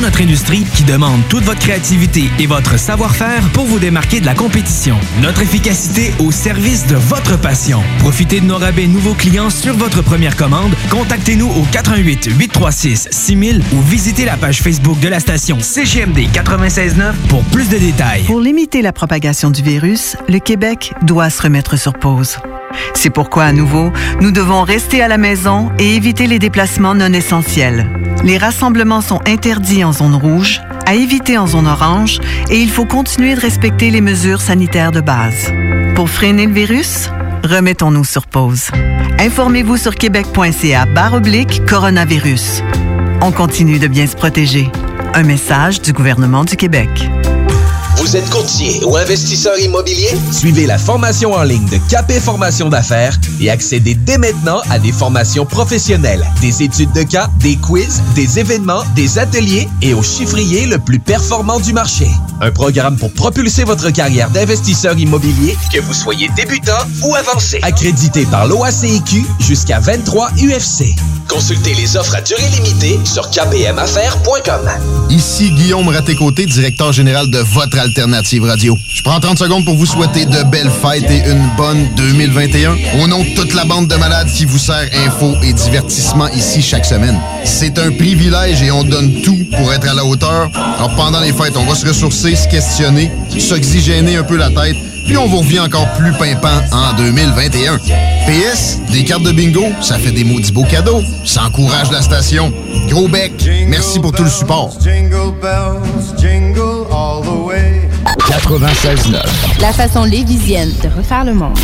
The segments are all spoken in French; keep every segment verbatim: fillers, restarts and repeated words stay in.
notre industrie qui demande toute votre créativité et votre savoir-faire pour vous démarquer de la compétition. Notre efficacité au service de votre passion. Profitez de nos rabais nouveaux clients sur votre première commande. Contactez-nous au quatre un huit, huit trois six, six mille ou visitez la page Facebook de la station C G M D quatre-vingt-seize neuf pour plus de détails. Pour limiter la propagation du virus, le Québec doit se remettre sur pause. C'est pourquoi, à nouveau, nous devons rester à la maison et éviter les déplacements non essentiels. Les rassemblements sont interdits en zone rouge, à éviter en zone orange, et il faut continuer de respecter les mesures sanitaires de base. Pour freiner le virus, remettons-nous sur pause. Informez-vous sur québec.ca barre oblique coronavirus. On continue de bien se protéger. Un message du gouvernement du Québec. Vous êtes courtier ou investisseur immobilier? Suivez la formation en ligne de Capé Formation d'affaires et accédez dès maintenant à des formations professionnelles, des études de cas, des quiz, des événements, des ateliers et au chiffrier le plus performant du marché. Un programme pour propulser votre carrière d'investisseur immobilier, que vous soyez débutant ou avancé. Accrédité par l'O A C I Q jusqu'à vingt-trois U F C. Consultez les offres à durée limitée sur k p m affaires point com. Ici Guillaume Raté-Côté, directeur général de votre Alternative Radio. Je prends trente secondes pour vous souhaiter de belles fêtes et une bonne deux mille vingt et un. Au nom de toute la bande de malades qui vous sert info et divertissement ici chaque semaine. C'est un privilège et on donne tout pour être à la hauteur. Alors pendant les fêtes, on va se ressourcer, se questionner, s'oxygéner un peu la tête, puis on vous revient encore plus pimpant en deux mille vingt et un. P S, des cartes de bingo, ça fait des maudits beaux cadeaux. Ça encourage la station. Gros bec, merci pour tout le support. quatre-vingt-seize neuf. La façon lévisienne de refaire le monde.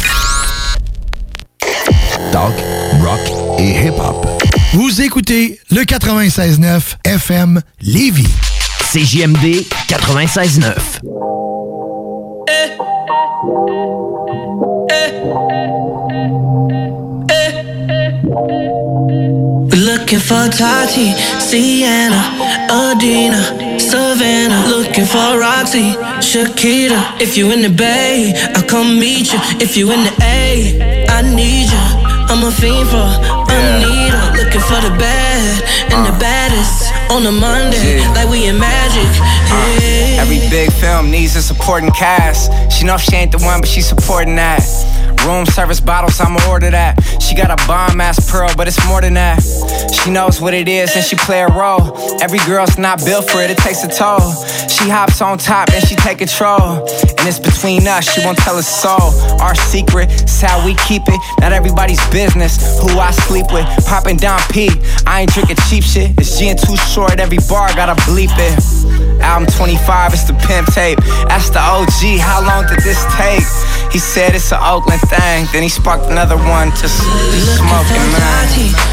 Talk, rock et hip-hop. Vous écoutez le quatre-vingt-seize neuf F M Lévis. C J M D quatre-vingt-seize neuf. Eh. Eh. Eh. Looking for Tati, Sienna, Adina, Savannah. Looking for Roxy, Shakira. If you in the Bay, I'll come meet you. If you in the A, I need you. I'm a fiend for Anita. Looking for the bad and the baddest on a Monday, yeah. Like we in Magic. Hey. Uh, every big film needs a supporting cast. She know she ain't the one, but she supporting that. Room service bottles, I'ma order that. She got a bomb-ass pearl, but it's more than that. She knows what it is and she play a role. Every girl's not built for it, it takes a toll. She hops on top and she take control. And it's between us, she won't tell a soul. Our secret, it's how we keep it. Not everybody's business, who I sleep with. Popping down P, I ain't drinking cheap shit. It's G and too short, every bar gotta bleep it. Album twenty-five, it's the pimp tape. That's the O G, how long did this take? He said it's an Oakland thing, then he sparked another one to smoking, man.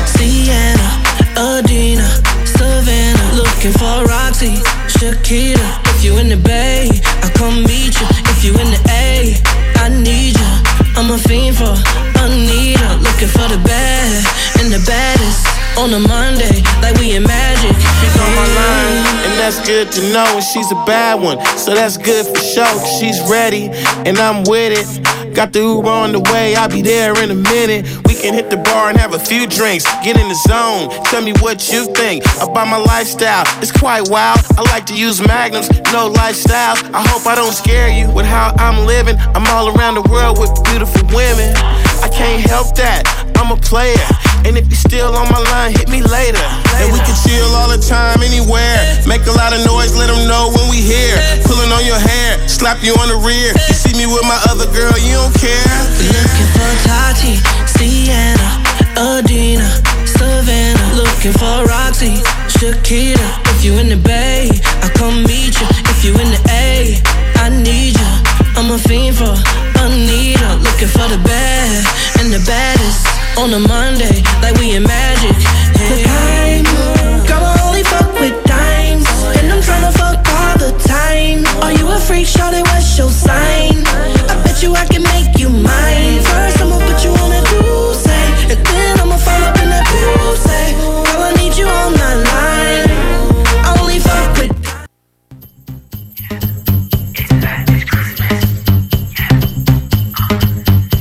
Sienna, Adina, Savannah. Looking for Roxy, Shakira. If you in the Bay, I'll come meet you. If you in the A, I need you. I'm a fiend for Anita. Looking for the bad and the baddest on a Monday, like we in Magic. She's on my line, and that's good to know. And she's a bad one, so that's good for sure. Cause she's ready, and I'm with it. Got the Uber on the way, I'll be there in a minute. We can hit the bar and have a few drinks. Get in the zone, tell me what you think about my lifestyle. It's quite wild, I like to use Magnums, no lifestyle. I hope I don't scare you with how I'm living. I'm all around the world with beautiful women. I can't help that, I'm a player. And if you're still on my line, hit me later. And we can chill all the time, anywhere. Make a lot of noise, let them know when we here. Pulling on your hair, slap you on the rear. You see me with my other girl, you don't care. Looking for Tati, Sienna, Adina, Savannah. Looking for Roxy, Shakira. If you in the Bay, I'll come meet you. If you in the A, I need you. I'm a fiend for Anita. Looking for the bad and the baddest on a Monday, like we in Magic. Hey. I'm, girl, I only fuck with dimes, and I'm tryna fuck all the time. Are you a freak, shawty, what's your sign? I bet you I can make you mine. First I'ma put you on a douce, and then I'ma fall up in that pussy. Girl, I need you on my line. I only fuck with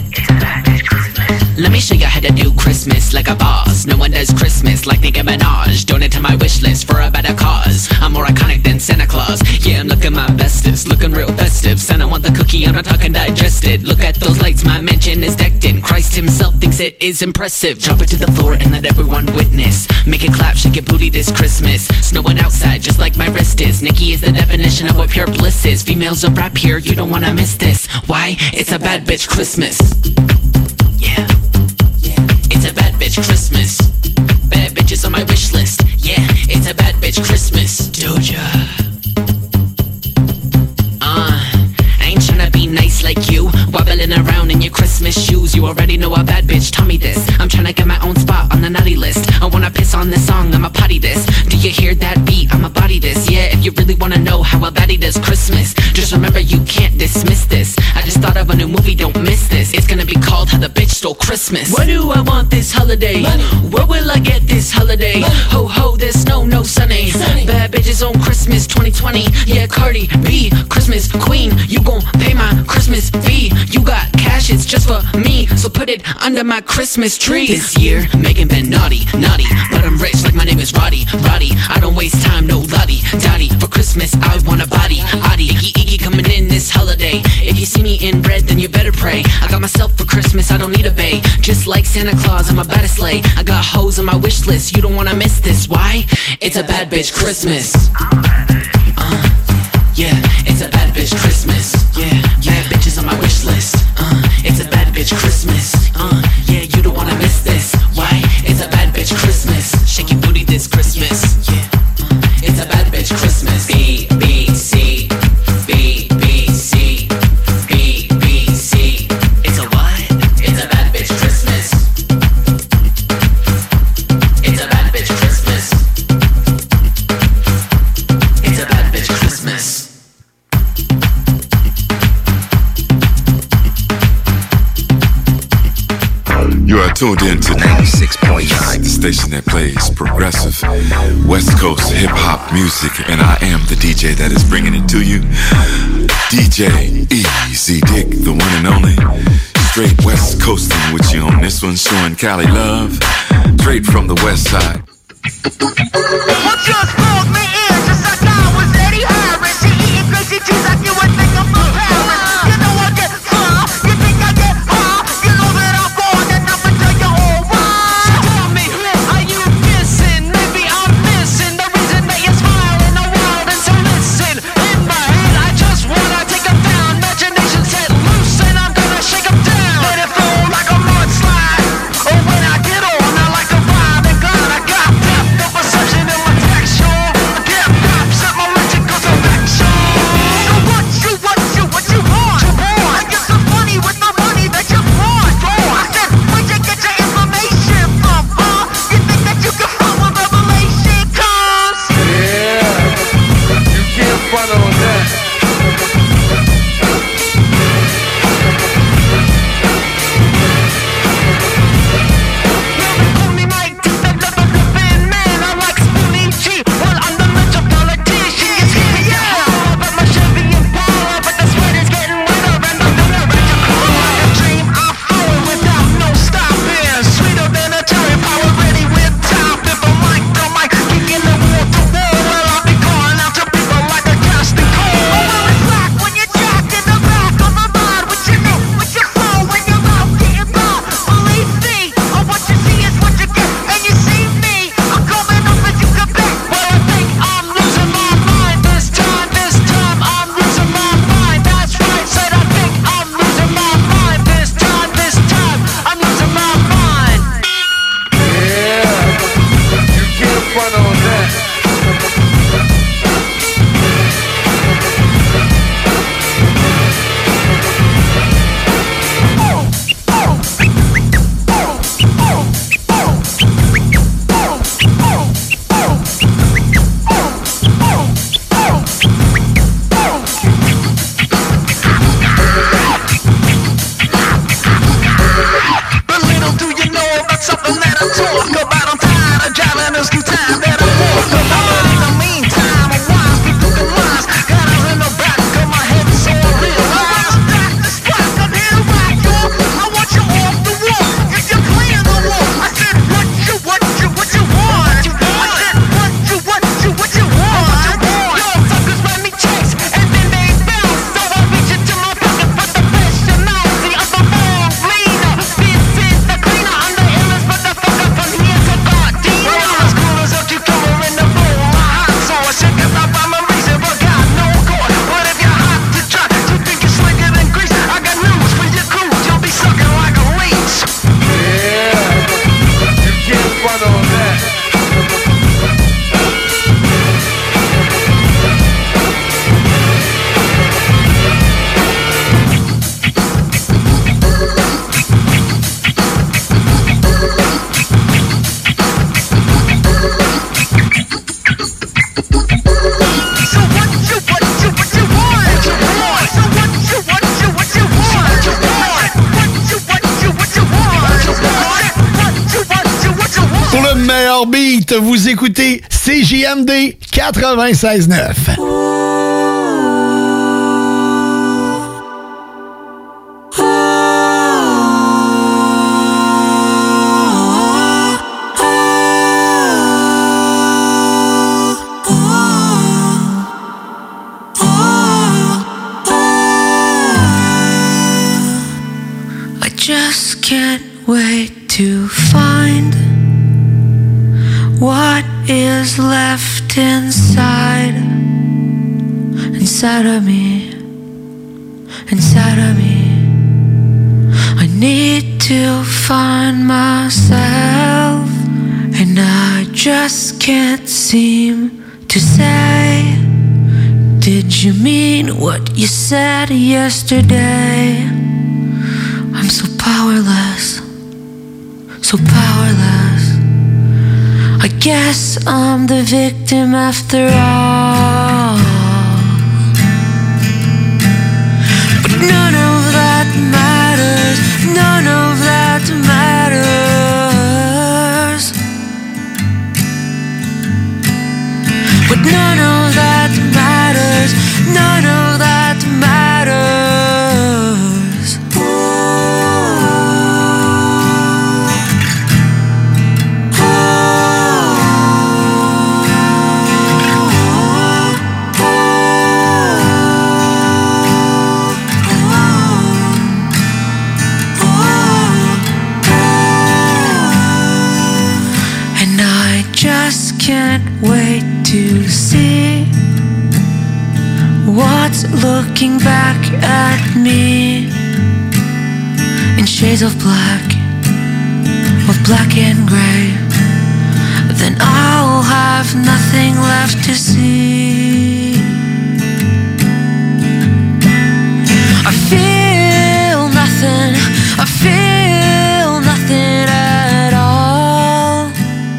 Let me show you how to do Christmas like a boss. No one does Christmas like Nicki Minaj. crunchy, I'm not talking digested. Look at those lights, my mansion is decked in. Christ himself thinks it is impressive. Drop it to the floor and let everyone witness. Make it clap, shake it booty this Christmas. Snowing outside just like my wrist is. Nikki is the definition of what pure bliss is. Females of rap here, you don't wanna miss this. Why? It's a bad bitch Christmas. Yeah, it's a bad bitch Christmas. Bad bitches on my wish list. Yeah, it's a bad bitch Christmas. Doja. Uh, I ain't tryna be nice like you, wobbling around in your Christmas shoes. You already know a bad bitch, tell me this. I'm tryna get my own spot on the naughty list. I wanna piss on this song, I'ma potty this. Do you hear that beat? I'ma body this. Yeah, if you really wanna know how a baddie does Christmas, just remember you can't dismiss this. I just thought of a new movie, don't miss this. It's gonna be called How the Bitch Stole Christmas. What do I want this holiday? Money. Where will I get this holiday? Money. Ho ho, there's snow, no sunny. sunny. Bad bitches on Christmas twenty twenty. Yeah, Cardi B, Christmas queen. You gon' pay my Christmas fee. You got cash, it's just for me, so put it under my Christmas tree. This year, Megan been naughty, naughty, but I'm rich like my name is Roddy, Roddy. I don't waste time, no lottie, dotty. For Christmas, I want a body, Audi. Iggy, Iggy coming in this holiday. If you see me in red, then you better pray. I got myself for Christmas, I don't need a bae. Just like Santa Claus, I'm about to slay. I got hoes on my wish list, you don't wanna miss this. Why? It's a bad bitch Christmas. Uh, yeah, it's a bad bitch Christmas. Yeah, bad bitches on my wish list. Uh, it's a bad bitch Christmas. Uh, yeah, you don't wanna miss this. Why? It's a bad bitch Christmas. Shake your booty this Christmas. Yeah, uh, it's a bad bitch Christmas. B, B, C, B, B, C, B, B, C. It's a what? It's a bad bitch Christmas. It's a bad bitch Christmas. It's a bad bitch Christmas. You are tuned in to ninety-six point nine, the station that plays progressive West Coast hip hop music, and I am the D J that is bringing it to you. D J Easy Dick, the one and only. Straight West Coasting with you on this one, showing Cali love, straight from the West Side. What just called me in just like I was Eddie Harris. She eating crazy cheese like you would think I'm from Paris. You know I get far, you think I get hard. You know that I'm born and I'm until you're all right. So tell me, are you missing? Maybe I'm missing the reason that you smile in the world. And so listen, in my head I just wanna take them down. Imagination set loose and I'm gonna shake them down. Let it flow like a mudslide. Oh, when I get on I like a vibe and God, I got depth of perception in my texture. meilleur beat, vous écoutez C J M D quatre-vingt-seize neuf. Just can't wait to find what is left inside, inside of me, inside of me. I need to find myself, and I just can't seem to say, did you mean what you said yesterday? I'm so powerless, so powerless. I guess I'm the victim after all. But none of that matters, none of that matters. But none of that matters, none of that matters. Can't wait to see what's looking back at me in shades of black, of black and gray. Then I'll have nothing left to see. I feel nothing, I feel nothing at all.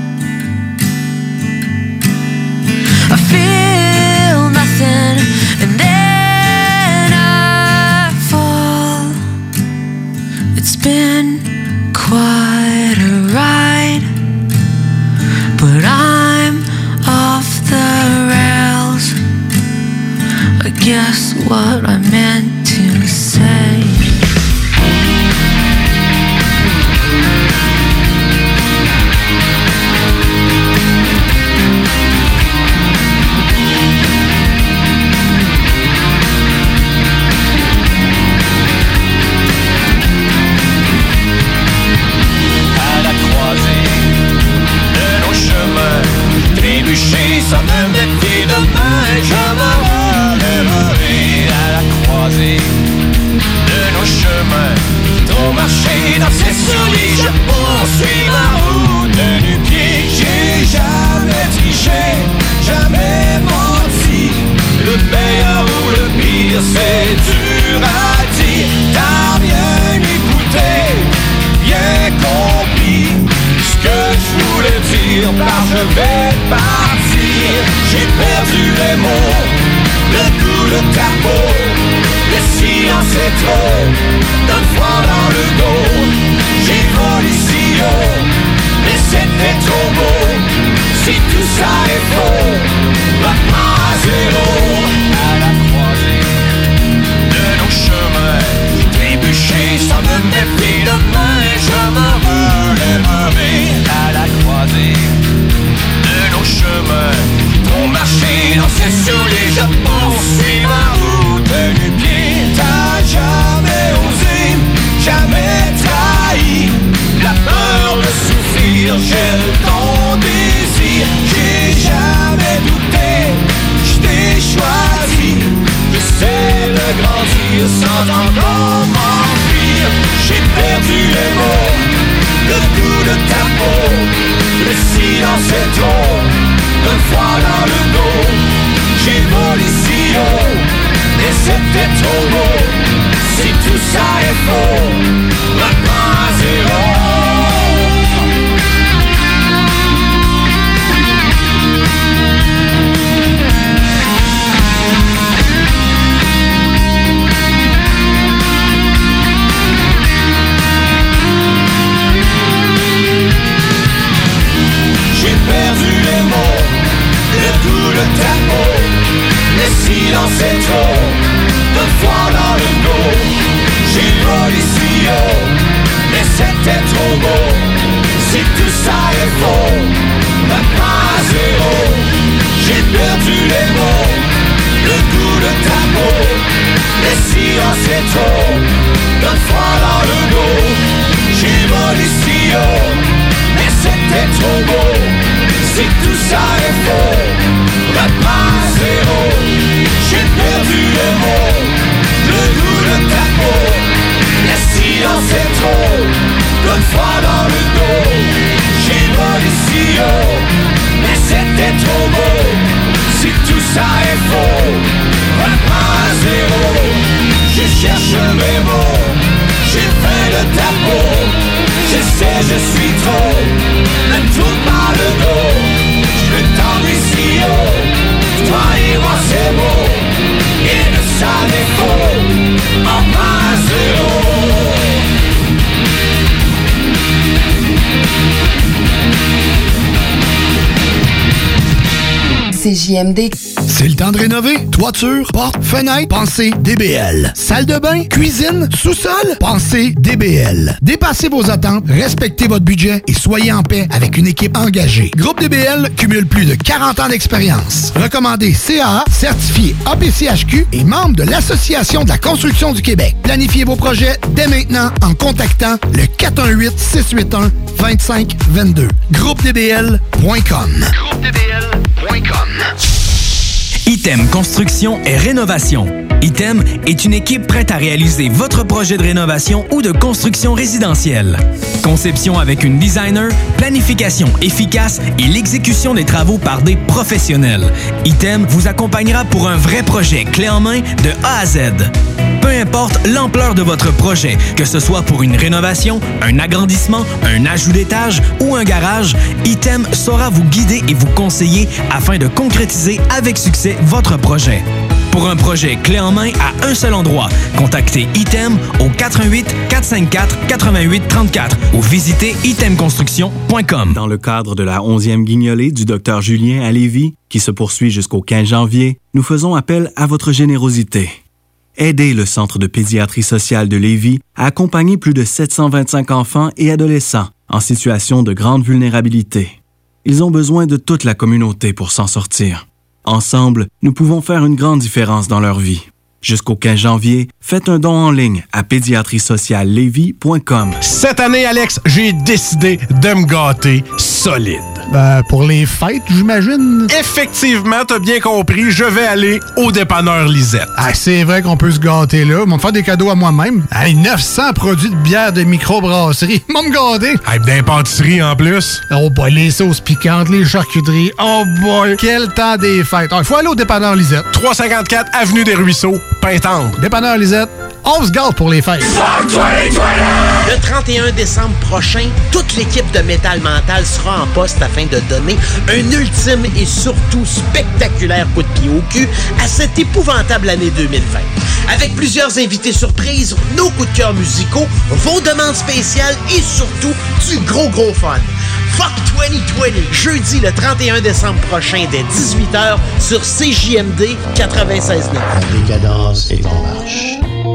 I feel nothing, and then I fall. It's been quite a ride, but I'm off the rails. I guess what I meant to say. Ça me méfie demain, je me relèverai à la croisée de nos chemins. Trop marché dans ces souliers, je poursuis ma route du pied. J'ai jamais triché, jamais menti. Le meilleur ou le pire, c'est dur à dire. T'as bien écouté, bien compris ce que je voulais dire, car je vais partir. J'ai perdu les mots, le goût de ta peau. Le silence est trop, donne froid dans le dos. J'ai volé si haut, mais c'était trop beau. Si tout ça est faux, maintenant à zéro. À la croisée de nos chemins, trébuché, ça me méfie demain. Je me relèverai à la croisée de nos chemins. Trop marché dans ces souliers, je poursuis ma route du pied. T'as jamais osé, jamais trahi la peur de souffrir, j'ai ton désir. J'ai jamais douté, je t'ai choisi. J'essaie de grandir sans encore m'enfuir. J'ai perdu les mots, le goût de ta peau. Le silence est trop, donne froid dans le dos. J'ai volé si haut, mais c'était trop beau. Si tout ça est faux, maintenant à zéro. c'est trop. Deux fois dans le dos, j'ai volé si haut, mais c'était trop beau. Si tout ça est faux, reprends à zéro. J'ai perdu les mots, le goût de ta peau. Les silences c'est trop, deux fois dans le dos. J'ai volé si haut, mais c'était trop beau. Si tout ça est faux, reprends à zéro. J'ai perdu les mots, le goût de ta peau. Les silences c'est trop, deux fois dans le dos. J'ai volé si haut, mais c'était trop beau. Si tout ça est faux, reprends à zéro. Je cherche mes mots, j'ai faim de ta peau. Je sais je suis trop, ne tourne pas le dos. Je veux tendre si haut, toi et moi c'est beau. Et de ça n'est faux, on prend à zéro. C J M D. C'est le temps de rénover. Toiture, porte, fenêtre, pensez D B L. Salle de bain, cuisine, sous-sol, pensez D B L. Dépassez vos attentes, respectez votre budget et soyez en paix avec une équipe engagée. Groupe D B L cumule plus de quarante ans d'expérience. Recommandé C A A, certifié A P C H Q et membre de l'Association de la construction du Québec. Planifiez vos projets dès maintenant en contactant le quatre un huit, six huit un, deux cinq deux deux. groupe d b l point com. groupe d b l point com. Item Construction et Rénovation. Item est une équipe prête à réaliser votre projet de rénovation ou de construction résidentielle. Conception avec une designer, planification efficace et l'exécution des travaux par des professionnels. Item vous accompagnera pour un vrai projet clé en main de A à Z. Peu importe l'ampleur de votre projet, que ce soit pour une rénovation, un agrandissement, un ajout d'étage ou un garage, Item saura vous guider et vous conseiller afin de concrétiser avec succès votre projet. Pour un projet clé en main à un seul endroit, contactez Item au quatre un huit, quatre cinq quatre, huit huit trois quatre ou visitez item construction point com. Dans le cadre de la onzième guignolée du docteur Julien à Lévis, qui se poursuit jusqu'au quinze janvier, nous faisons appel à votre générosité. Aidez le Centre de pédiatrie sociale de Lévis à accompagner plus de sept cent vingt-cinq enfants et adolescents en situation de grande vulnérabilité. Ils ont besoin de toute la communauté pour s'en sortir. Ensemble, nous pouvons faire une grande différence dans leur vie. Jusqu'au quinze janvier, faites un don en ligne à pédiatrie sociale lévis point com. Cette année, Alex, j'ai décidé de me gâter solide. Ben, pour les fêtes, j'imagine. Effectivement, t'as bien compris, je vais aller au dépanneur Lisette. Ah, c'est vrai qu'on peut se gâter là. Ils vont me faire des cadeaux à moi-même. Hey, neuf cents produits de bière de microbrasserie. Ils vont me gâter. Hey, d'impantisserie en plus. Oh boy, les sauces piquantes, les charcuteries. Oh boy, quel temps des fêtes. Il faut aller au dépanneur Lisette. trois cent cinquante-quatre Avenue des Ruisseaux, Pintendre. Dépanneur Lisette, on se gâte pour les fêtes. Le trente et un décembre prochain, toute l'équipe de Métal Mental sera en poste afin de donner un ultime et surtout spectaculaire coup de pied au cul à cette épouvantable année deux mille vingt. Avec plusieurs invités surprises, nos coups de cœur musicaux, vos demandes spéciales et surtout du gros gros fun. Fuck vingt vingt, jeudi le trente et un décembre prochain dès dix-huit heures sur C J M D quatre-vingt-seize neuf. La décadence est en marche.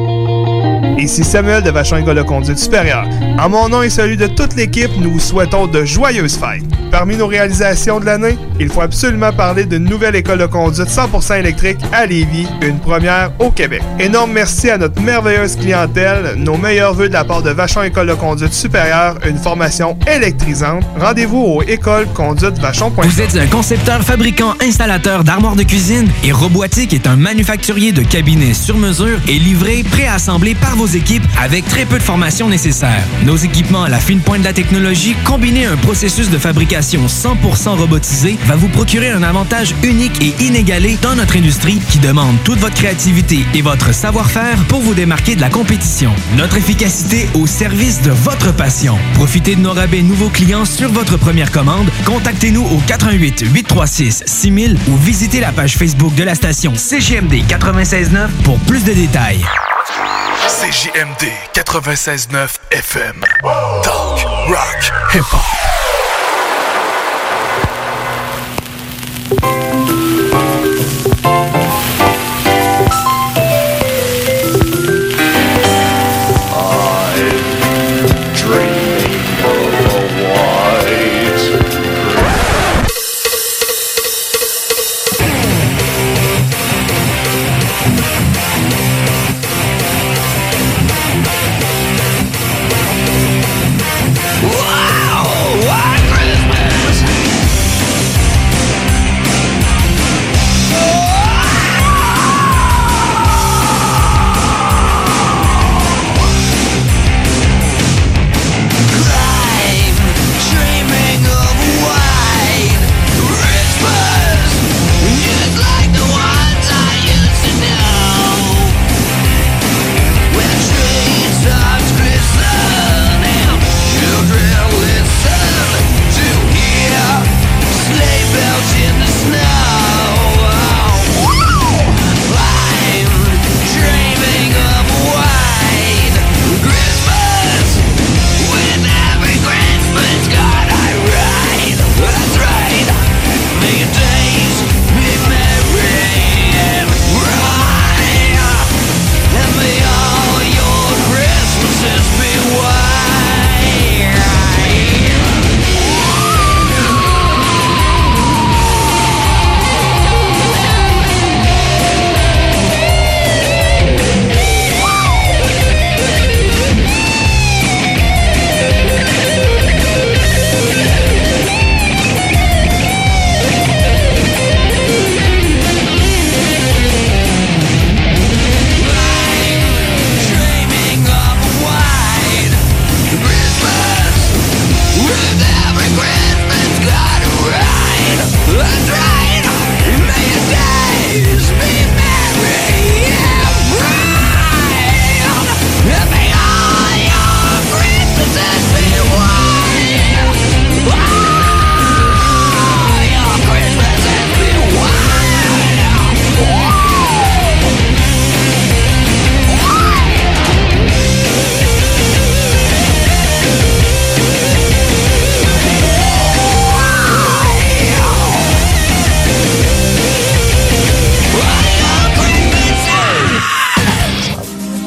Ici Samuel de Vachon École de Conduite Supérieure. En mon nom et celui de toute l'équipe, nous vous souhaitons de joyeuses fêtes. Parmi nos réalisations de l'année, il faut absolument parler d'une nouvelle école de conduite cent pour cent électrique à Lévis, une première au Québec. Énorme merci à notre merveilleuse clientèle, nos meilleurs vœux de la part de Vachon École de Conduite Supérieure, une formation électrisante. Rendez-vous au école conduite vachon point com. Vous êtes un concepteur, fabricant, installateur d'armoires de cuisine et Robotique est un manufacturier de cabinets sur mesure et livré, préassemblé par vos équipes avec très peu de formation nécessaire. Nos équipements à la fine pointe de la technologie, combinés à un processus de fabrication cent pour cent robotisé, va vous procurer un avantage unique et inégalé dans notre industrie qui demande toute votre créativité et votre savoir-faire pour vous démarquer de la compétition. Notre efficacité au service de votre passion. Profitez de nos rabais nouveaux clients sur votre première commande. Contactez-nous au quatre un huit, huit trois six, six mille ou visitez la page Facebook de la station C J M D quatre-vingt-seize neuf pour plus de détails. C J M D quatre-vingt-seize neuf F M. Talk, rock, hip-hop.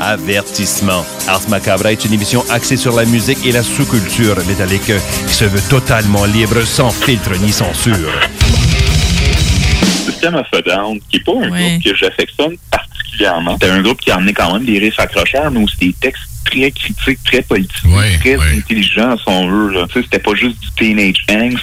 Avertissement. Ars Macabra est une émission axée sur la musique et la sous-culture métallique qui se veut totalement libre, sans filtre ni censure. System of a Down, qui n'est pas un ouais. groupe que j'affectionne particulièrement. C'est un groupe qui a amené quand même des riffs accrocheurs, mais aussi des textes très critiques, très politiques, ouais, très ouais. intelligents, si on veut. Là. Tu sais, c'était pas juste du teenage angst.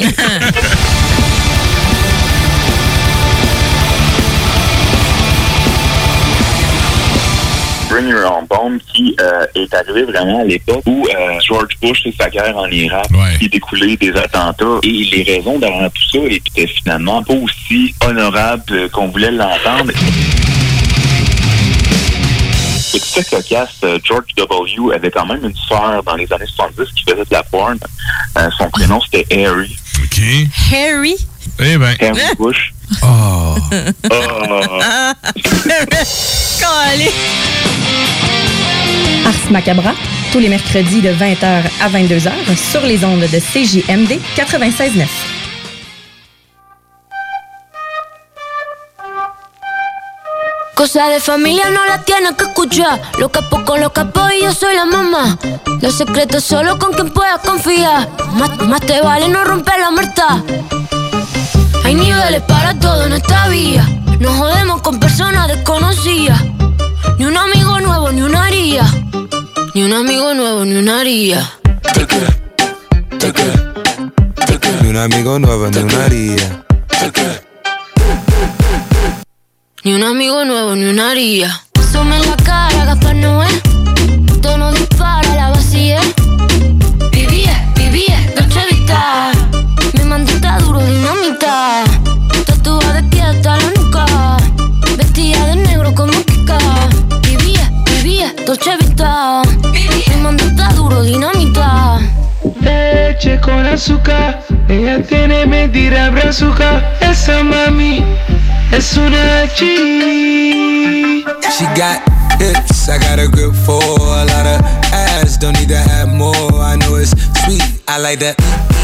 Bring Your Own Bomb, qui euh, est arrivé vraiment à l'époque où euh, George Bush et sa guerre en Irak, ouais. qui découlait des attentats, et les raisons derrière tout ça étaient finalement pas aussi honorables qu'on voulait l'entendre. C'est tout ça cocasse. George W. avait quand même une sœur dans les années soixante-dix qui faisait de la porn. Euh, son prénom, c'était Harry. OK. Harry? Eh ben. Harry Bush. Oh. oh. Ars Macabra, tous les mercredis de vingt heures à vingt-deux heures sur les ondes de C J M D quatre-vingt-seize neuf. Cosa de familia no la tienes que escuchar. Los capos con los capos y yo soy la mamá. Los secretos solo con quien puedas confiar. Más, más te vale no romper la muerta. Hay niveles para todo en esta vía. No jodemos con personas desconocidas. Ni un amigo nuevo, ni una haría. Ni un amigo nuevo, ni una haría. Ni un amigo nuevo, ni una haría. Ni un amigo nuevo, ni una haría. Asome en la cara, Gaspar Noé. Tono dispara, la vacía. Vivía, vivía, Dolce Vita. Mi mandita duro, dinamita. Tatuada de pie hasta la nuca. Vestida de negro como Kika. Vivía, vivía, Dolce Vita. Mi mandita duro, dinamita. Leche con azúcar. Ella tiene mentira brazuca. Esa mami es una G. She got hips, I got a grip for a lot of ass. Don't need to have more. I know it's sweet, I like that.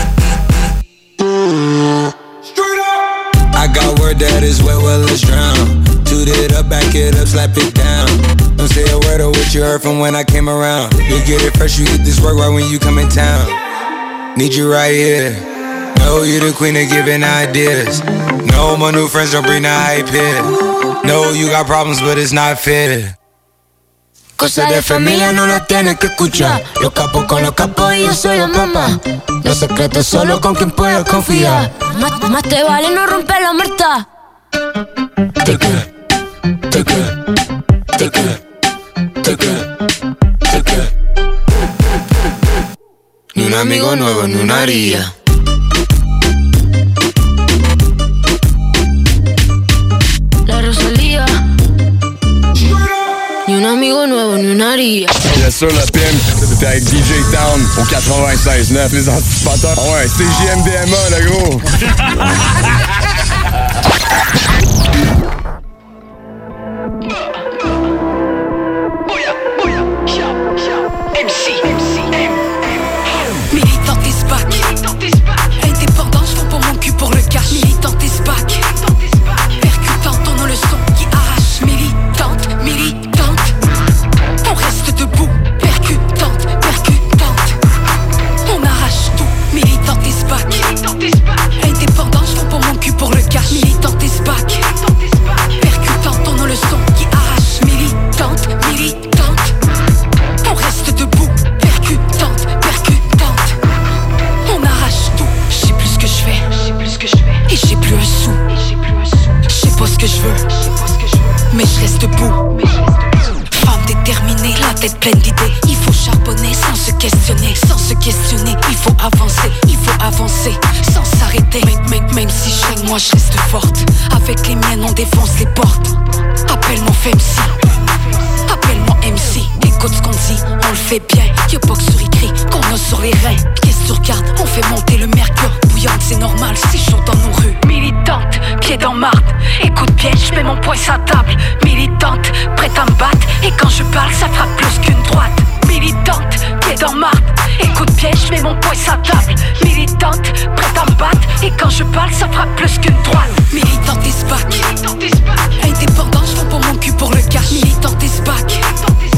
Straight up. I got word that is wet, well let's drown. Toot it up, back it up, slap it down. Don't say a word of what you heard from when I came around. You get it fresh, you get this work right when you come in town. Need you right here. Know you the queen of giving ideas. No, my new friends don't bring the hype here. No, you got problems, but it's not fair. Cosa de familia no la tienes que escuchar. Los capos con los capos y yo soy la mamá. Los secretos solo con quien puedas confiar. Más, más te vale no romper la muerta. Take it, take it, take it, take it, take it. Ni un amigo nuevo, ni una haría. La Rosalía. Ni un amigo nuevo, ni una haría. Bien sûr, le P M, c'était avec D J Town au quatre-vingt-seize neuf, les anticipateurs. Ah ouais, C J M D M A, le gros. M C, M C, M. Militante is back. Indépendance, je pour mon cul pour le cash. Militante is back. Percutante, on a le son qui arrache. Militante, militante. On reste debout. Percutante, percutante. On arrache tout. Militante is back. Indépendance, je pour mon cul pour le cash. Militante is back. Percutante, on a le son qui arrache. Militante, militante. On reste debout, percutante, percutante. On arrache tout, je sais plus ce que je fais, et j'ai plus un sou. Je sais pas ce que je veux, mais je reste debout. Femme déterminée, la tête pleine d'idées. Il faut charbonner sans se questionner, sans se questionner. Il faut avancer, il faut avancer, sans s'arrêter. Même, même, même si je règne, moi je reste forte. Avec les miennes, on défonce les portes. Appelle-moi Femsi. Appelle-moi M C, écoute ce qu'on dit, on le fait bien. Y'a pas que sur écrit qu'on a sur les reins. Qu'est-ce que tu regardes, on fait monter le mercure. Bouillante, c'est normal, c'est chaud dans nos rues. Militante, pied dans marde. Écoute bien, je mets mon poing sur la table. Militante, prête à me battre. Et quand je parle, ça frappe plus qu'une droite. Militante, pied dans marde. Écoute bien, je mets mon poing sur la table. Militante, prête à me battre. Et quand je parle, ça frappe plus qu'une droite. Militante is back. Indépendant, je vends pour mon cul pour le cash. Militante is back.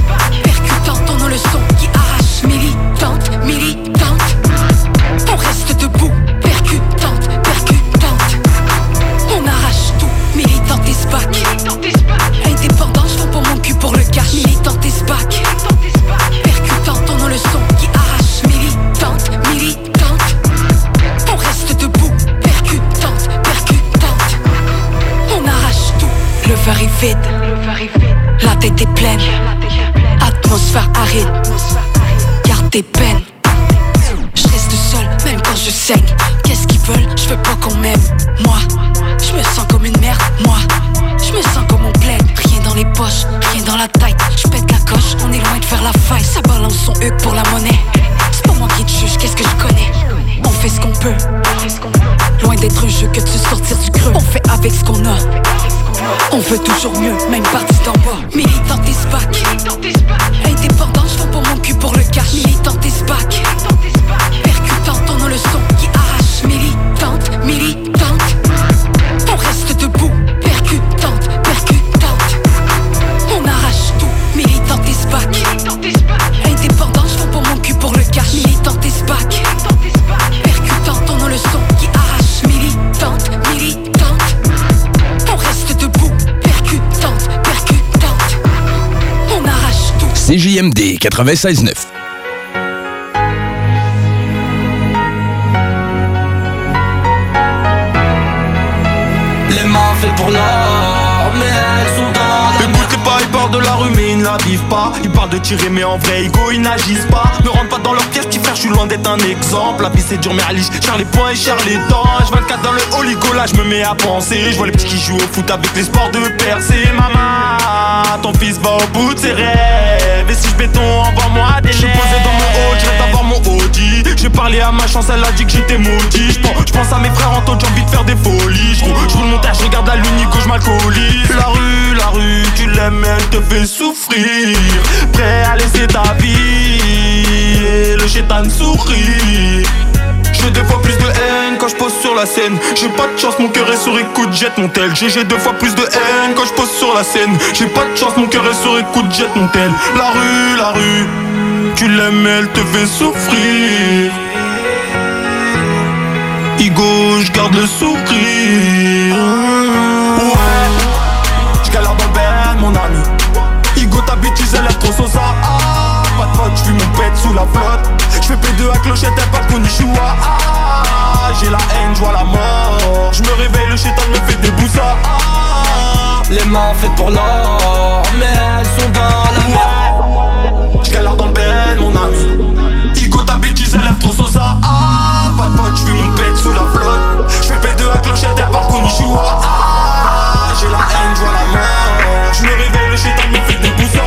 verre est vide, la tête est pleine, atmosphère aride, garde tes peines. Je reste seul, même quand je saigne. Qu'est-ce qu'ils veulent? Je veux pas qu'on m'aime. Moi, je me sens comme une merde. Moi, je me sens comme on plaide. Rien dans les poches, rien dans la tête. Je pète la coche, on est loin de faire la faille. Ça balance son huc pour la monnaie. C'est pas moi qui te juge, qu'est-ce que je connais? On fait ce qu'on peut. Loin d'être un jeu que de se sortir du creux. On fait avec ce qu'on a. On veut toujours mieux, même parti d'en bas. Militante et SPAC. Indépendant, je vends pour mon cul pour le cash. Militante et SPAC. Percutante, on a le son qui arrache. Militante, militante. On reste debout. Percutante, percutante. On arrache tout. Militante et SPAC. Indépendant, je vends pour mon cul pour le cash. Militante et SPAC. Percutante, on a le son qui arrache. Militante, militante. On reste debout. Percutante, percutante. On arrache tout. C J M D quatre-vingt-seize neuf. Les mains faites pour l'or, mais elles sont dans la merde. Écoutez pas, ils parlent de la rue mais ils ne la vivent pas. Ils parlent de tirer mais en vrai ego ils n'agissent pas. Ne rentre pas dans leur piège, petit frère, je suis loin d'être un exemple. La vie c'est dur mais à liche, cher les poings et cher les dents. H vingt-quatre dans le oligo, là je me mets à penser. Je vois les petits qui jouent au foot avec l'espoir de percer. Maman, ton fils va au bout de ses rêves. Et si je béton, envoie-moi des lèvres. Je suis posé dans mon haut, je rêve d'avoir mon Audi. J'ai parlé à ma chance, elle a dit que j'étais maudit. Je pense, pense à mes frères en taux, j'ai envie de faire des folies. Je roule mon montage, je regarde la lune, Nico, je m'alcoolise. La rue, la rue, tu l'aimes, elle te fait souffrir. Prêt à laisser ta vie et le chétan sourit. J'ai deux fois plus de haine quand je pose sur la scène. J'ai pas de chance, mon cœur est sur écoute, jette mon tel. J'ai deux fois plus de haine quand je pose sur la scène. J'ai pas de chance, mon cœur est sur écoute, jette mon tel. La rue, la rue, tu l'aimes, elle te fait souffrir. Igo, je garde le sourire. Ouais, je galère dans le ben, mon ami. Igo, ta bêtise, elle est trop sosa. Ah, pas de faute, j'fuis mon pet sous la flotte. J'fais P deux à clochette, elle pas de konnichiwa. Ah, j'ai la haine, j'vois la mort. J'me réveille, le chétan me fait des boussas. Ah, les mains faites pour l'or, mais elles sont dans la merde. J'galère dans le ben, mon ami. Igo, ta bêtise, elle est trop sosa. Ah, pas de pote, j'fuis mon pet sous la flotte. J'fais P deux à clochette, elle pas de konnichiwa. Ah, j'ai la haine, j'vois la mort. J'me réveille, le chétan me fait des boussas.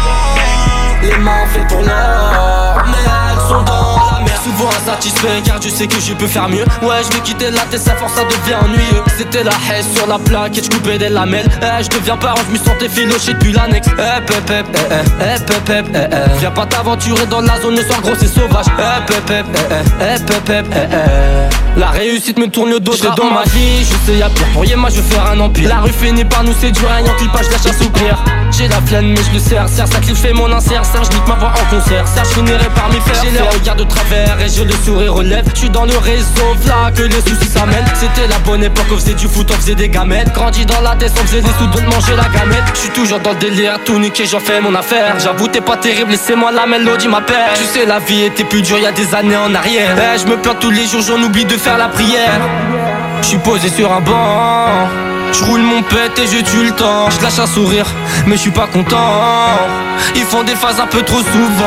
Ah, les mains faites pour l'or, mais elles sont dans la merde. Souvent insatisfait car tu sais que je peux faire mieux. Ouais, je vais quitter la tête, sa force ça devient ennuyeux. C'était la haisse sur la plaque et je coupais des lamelles. Eh, je deviens parent, je me sentais filoché depuis l'annexe. Eh, pep, pep, eh, eh, eh, pep, pep, eh, eh. Viens pas t'aventurer dans la zone, le soir gros c'est sauvage. Eh, pep, pep, eh, eh, eh, pep, pep, eh, eh. La réussite me tourne le dos, j'étais dans ma vie, je sais y'a pire. Pour moi je vais faire un empire. La rue finit par nous séduire, un clipage lâche un soupir. J'ai la flemme mais je le serre, serre, ça clip fait mon insert. Serge nique ma voix en concert, Serge finirait par m'y faire. J'ai les regards de travers et je le sourire relève. J'suis dans le réseau, là que les soucis s'amènent. C'était la bonne époque, on faisait du foot, on faisait des gamètes. Grandi dans la tête, on faisait des sous de manger la gamette. J'suis toujours dans le délire, tout niqué, j'en fais mon affaire. J'avoue t'es pas terrible, laissez-moi la mélodie m'appelle. Tu sais la vie était plus dure y'a des années en arrière. Eh, je me plains tous les jours, j'en oublie de faire la prière. J'suis posé sur un banc, j'roule mon pet et je tue le temps. J'lâche un sourire, mais j'suis pas content. Ils font des phases un peu trop souvent.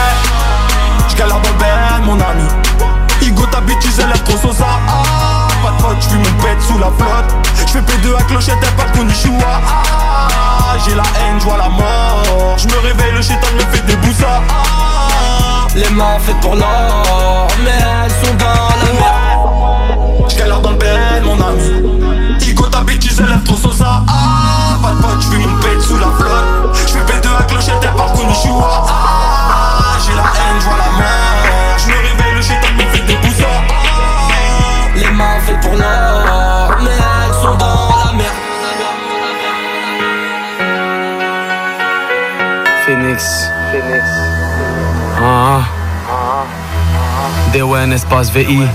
Ouais, j'galère dans le ben, mon ami. Igo, ta bêtise, elle est trop sosa. Ah, pas de faute, j'fuis mon pet sous la flotte. J'fais P deux à clochette, elle pas de konnichiwa. Ah, j'ai la haine, j'vois la mort. J'me réveille, le chétan me fait des boussas. Ah, les mains faites pour l'or, mais elles sont dans la merde. J'galère dans le ben, mon ami. Igo, ta bêtise, elle est trop sosa. Ah, pas de pote, j'fuis mon pet sous la flotte. J'fais P deux à clochette, elle pas de konnichiwa. Ah, j'ai la haine, j'vois la mort. J'me réveille, le chétan me fait des boussas. Ah, les mains faites pour l'or, mais elles sont dans la merde. Phoenix, Phoenix. Ah, D O N espace V I.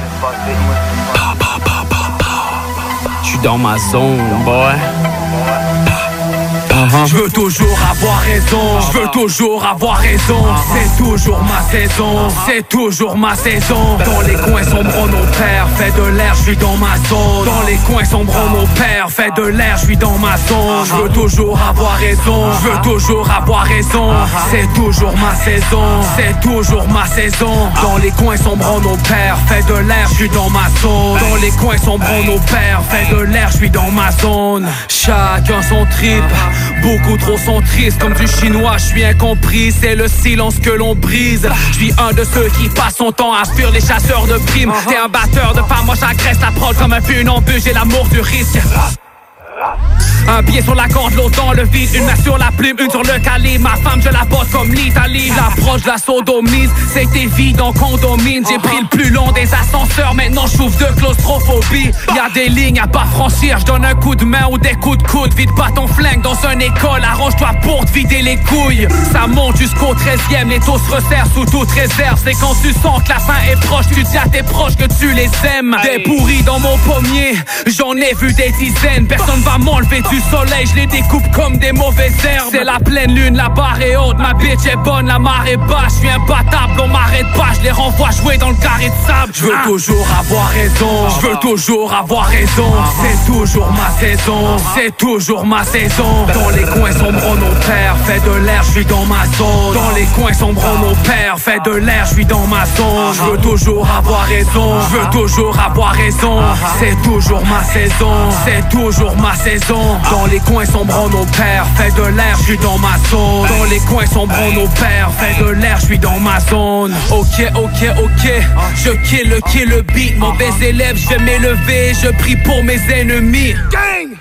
J'suis dans ma zone, boy. Uh-huh. Je veux toujours avoir raison, je veux toujours avoir raison. C'est toujours ma saison, c'est toujours ma saison. Dans les coins sombres nos pères, fait de l'air, je suis dans ma zone. Dans les coins sombres nos pères, fait de l'air, je suis dans ma zone. Je veux toujours avoir raison, je veux toujours avoir raison. C'est toujours ma saison, c'est toujours ma saison. Dans les coins sombres nos pères, fait de l'air, je suis dans ma zone. Dans les coins sombres nos pères, fait de l'air, je suis dans ma zone. Chacun son trip, beaucoup trop sont tristes. Comme du chinois, je suis incompris, c'est le silence que l'on brise. Je suis un de ceux qui passent son temps à fuir les chasseurs de primes. T'es un batteur de pas, moi j'agresse la prod comme un funambule, j'ai l'amour du risque. Un pied sur la corde, l'autre dans le vide, une main sur la plume, une sur le calibre. Ma femme, je la bosse comme l'Italie. L'approche de la sodomise, c'était vide en condomine. J'ai pris le plus long des ascenseurs, maintenant je souffre de claustrophobie. Y'a des lignes à pas franchir, je donne un coup de main ou des coups de coude. Vide pas ton flingue dans une école, arrange-toi pour te vider les couilles. Ça monte jusqu'au treizième, les taux se resserrent sous toute réserve. C'est quand tu sens que la fin est proche, tu dis à tes proches que tu les aimes. Des pourris dans mon pommier, j'en ai vu des dizaines. Personne va m'enlever du soleil, je les découpe comme des mauvaises herbes. C'est la pleine lune, la barre est haute, ma bitch est bonne, la marée basse. Je suis imbattable, on m'arrête pas, je les renvoie jouer dans le carré de sable. Je veux ah. toujours avoir raison, je veux toujours avoir raison. C'est toujours ma saison, c'est toujours ma saison. Dans les coins sombres nos pères, fait de l'air, je suis dans ma zone. Dans les coins sombres nos pères, fait de l'air, je suis dans ma zone. Je veux toujours avoir raison, je veux toujours avoir raison. C'est toujours ma saison, c'est toujours ma saison. Dans les coins sombres nos pères, fait de l'air, je suis dans ma zone. Dans les coins sombres nos pères, fait de l'air, je suis dans ma zone. Ok, ok, ok, je kill le kill le beat. Mauvais élève, je vais m'élever, je prie pour mes ennemis. Gang!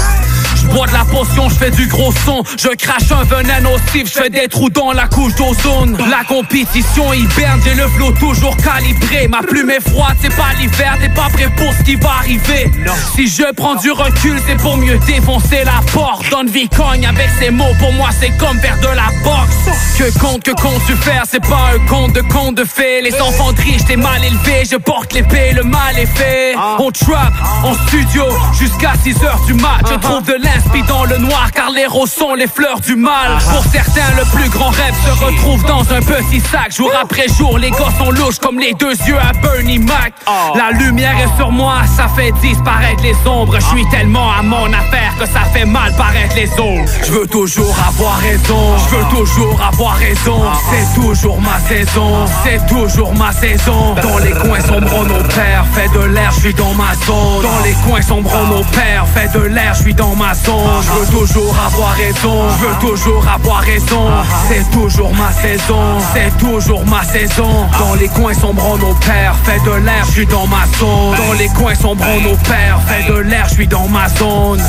Je bois de la potion, je fais du gros son. Je crache un venin nocif, je fais des trous dans la couche d'ozone. La compétition hiberne, j'ai le flow toujours calibré. Ma plume est froide, c'est pas l'hiver, t'es pas prêt pour ce qui va arriver. Non. Si je prends du recul, c'est pour mieux défoncer la porte. Donne vie cogne avec ces mots, pour moi c'est comme faire de la boxe. Que compte, que comptes-tu faire, c'est pas un conte de conte de fées. Les enfants de riches, t'es mal élevé, je porte l'épée, le mal est fait. On trap, en studio, jusqu'à six heures du mat. Je trouve de l'inspi dans le noir, car les roses sont les fleurs du mal. Pour certains, le plus grand rêve se retrouve dans un petit sac. Jour après jour, les gars sont louches comme les deux yeux à Bernie Mac. La lumière est sur moi, ça fait disparaître les ombres. Je suis tellement à mon affaire que ça fait mal paraître les autres. Je veux toujours avoir raison, je veux toujours avoir raison. C'est toujours ma saison, c'est toujours ma saison. Dans les coins sombres nos pères, fait de l'air, je suis dans ma zone. Dans les coins sombres nos pères, fait de l'air, je suis dans ma zone. Je veux toujours avoir raison, je veux toujours avoir raison. C'est toujours ma saison, c'est toujours ma saison. Dans les coins sombres nos pères, fait de l'air, je suis dans ma zone. Dans les coins sombres nos pères, fait de l'air, je suis dans ma zone.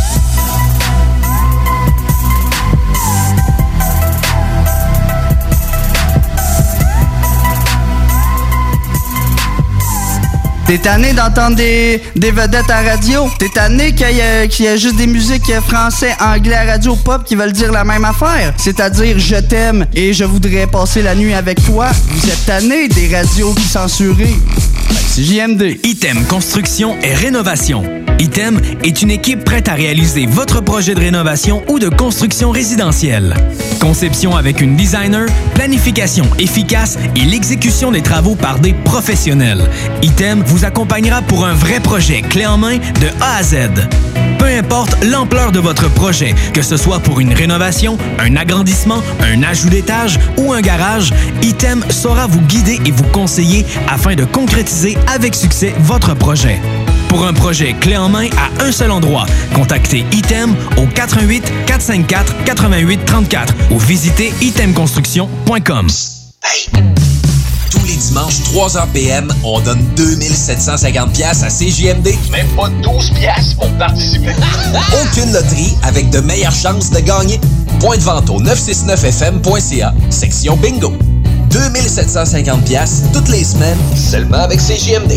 T'es tanné d'entendre des, des vedettes à radio? T'es tanné qu'il y, a, qu'il y a juste des musiques français, anglais à radio pop qui veulent dire la même affaire? C'est-à-dire je t'aime et je voudrais passer la nuit avec toi. Vous êtes tanné des radios qui censurent? Ben, c'est J M D. Item Construction et Rénovation. Item est une équipe prête à réaliser votre projet de rénovation ou de construction résidentielle. Conception avec une designer, planification efficace et l'exécution des travaux par des professionnels. Item vous accompagnera pour un vrai projet clé en main de A à Z. Peu importe l'ampleur de votre projet, que ce soit pour une rénovation, un agrandissement, un ajout d'étage ou un garage, Item saura vous guider et vous conseiller afin de concrétiser avec succès votre projet. Pour un projet clé en main à un seul endroit, contactez Item au quatre un huit, quatre cinq quatre, huit huit trois quatre ou visitez item construction point com. Hey. Tous les dimanches, trois heures P M, on donne deux mille sept cent cinquante dollars à C J M D. Même pas douze piastres pour participer. Aucune loterie avec de meilleures chances de gagner. Point de vente au neuf cent soixante-neuf F M point C A, section bingo. deux mille sept cent cinquante dollars toutes les semaines, seulement avec C J M D.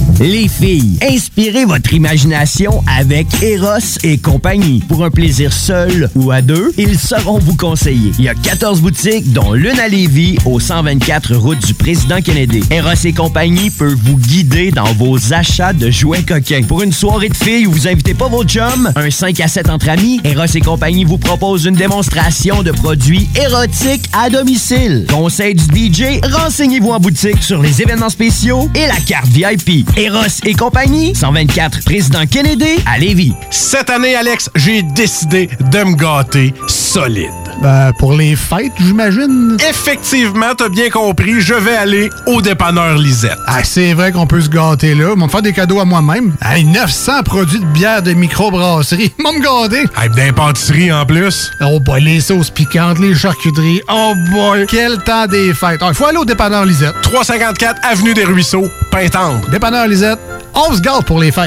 Les filles, inspirez votre imagination avec Eros et compagnie. Pour un plaisir seul ou à deux, ils sauront vous conseiller. Il y a quatorze boutiques, dont l'une à Lévis, au cent vingt-quatre route du Président Kennedy. Eros et compagnie peut vous guider dans vos achats de jouets coquins. Pour une soirée de filles où vous invitez pas vos chums, un cinq à sept entre amis, Eros et compagnie vous propose une démonstration de produits érotiques à domicile. Conseil du D J, renseignez-vous en boutique sur les événements spéciaux et la carte V I P. Eros et compagnie, cent vingt-quatre Président Kennedy à Lévis. Cette année, Alex, j'ai décidé de me gâter solide. Ben, pour les fêtes, j'imagine. Effectivement, t'as bien compris, je vais aller au dépanneur Lisette. Ah, c'est vrai qu'on peut se gâter là. Ils vont me faire des cadeaux à moi-même. Hey, neuf cents produits de bière de microbrasserie. Ils vont me gâter. Hey, d'impantisserie en plus. Oh boy, les sauces piquantes, les charcuteries. Oh boy, quel temps des fêtes. Il faut aller au dépanneur Lisette. trois cent cinquante-quatre Avenue des Ruisseaux, Pintendre. Dépanneur Lisette, on se gâte pour les fêtes.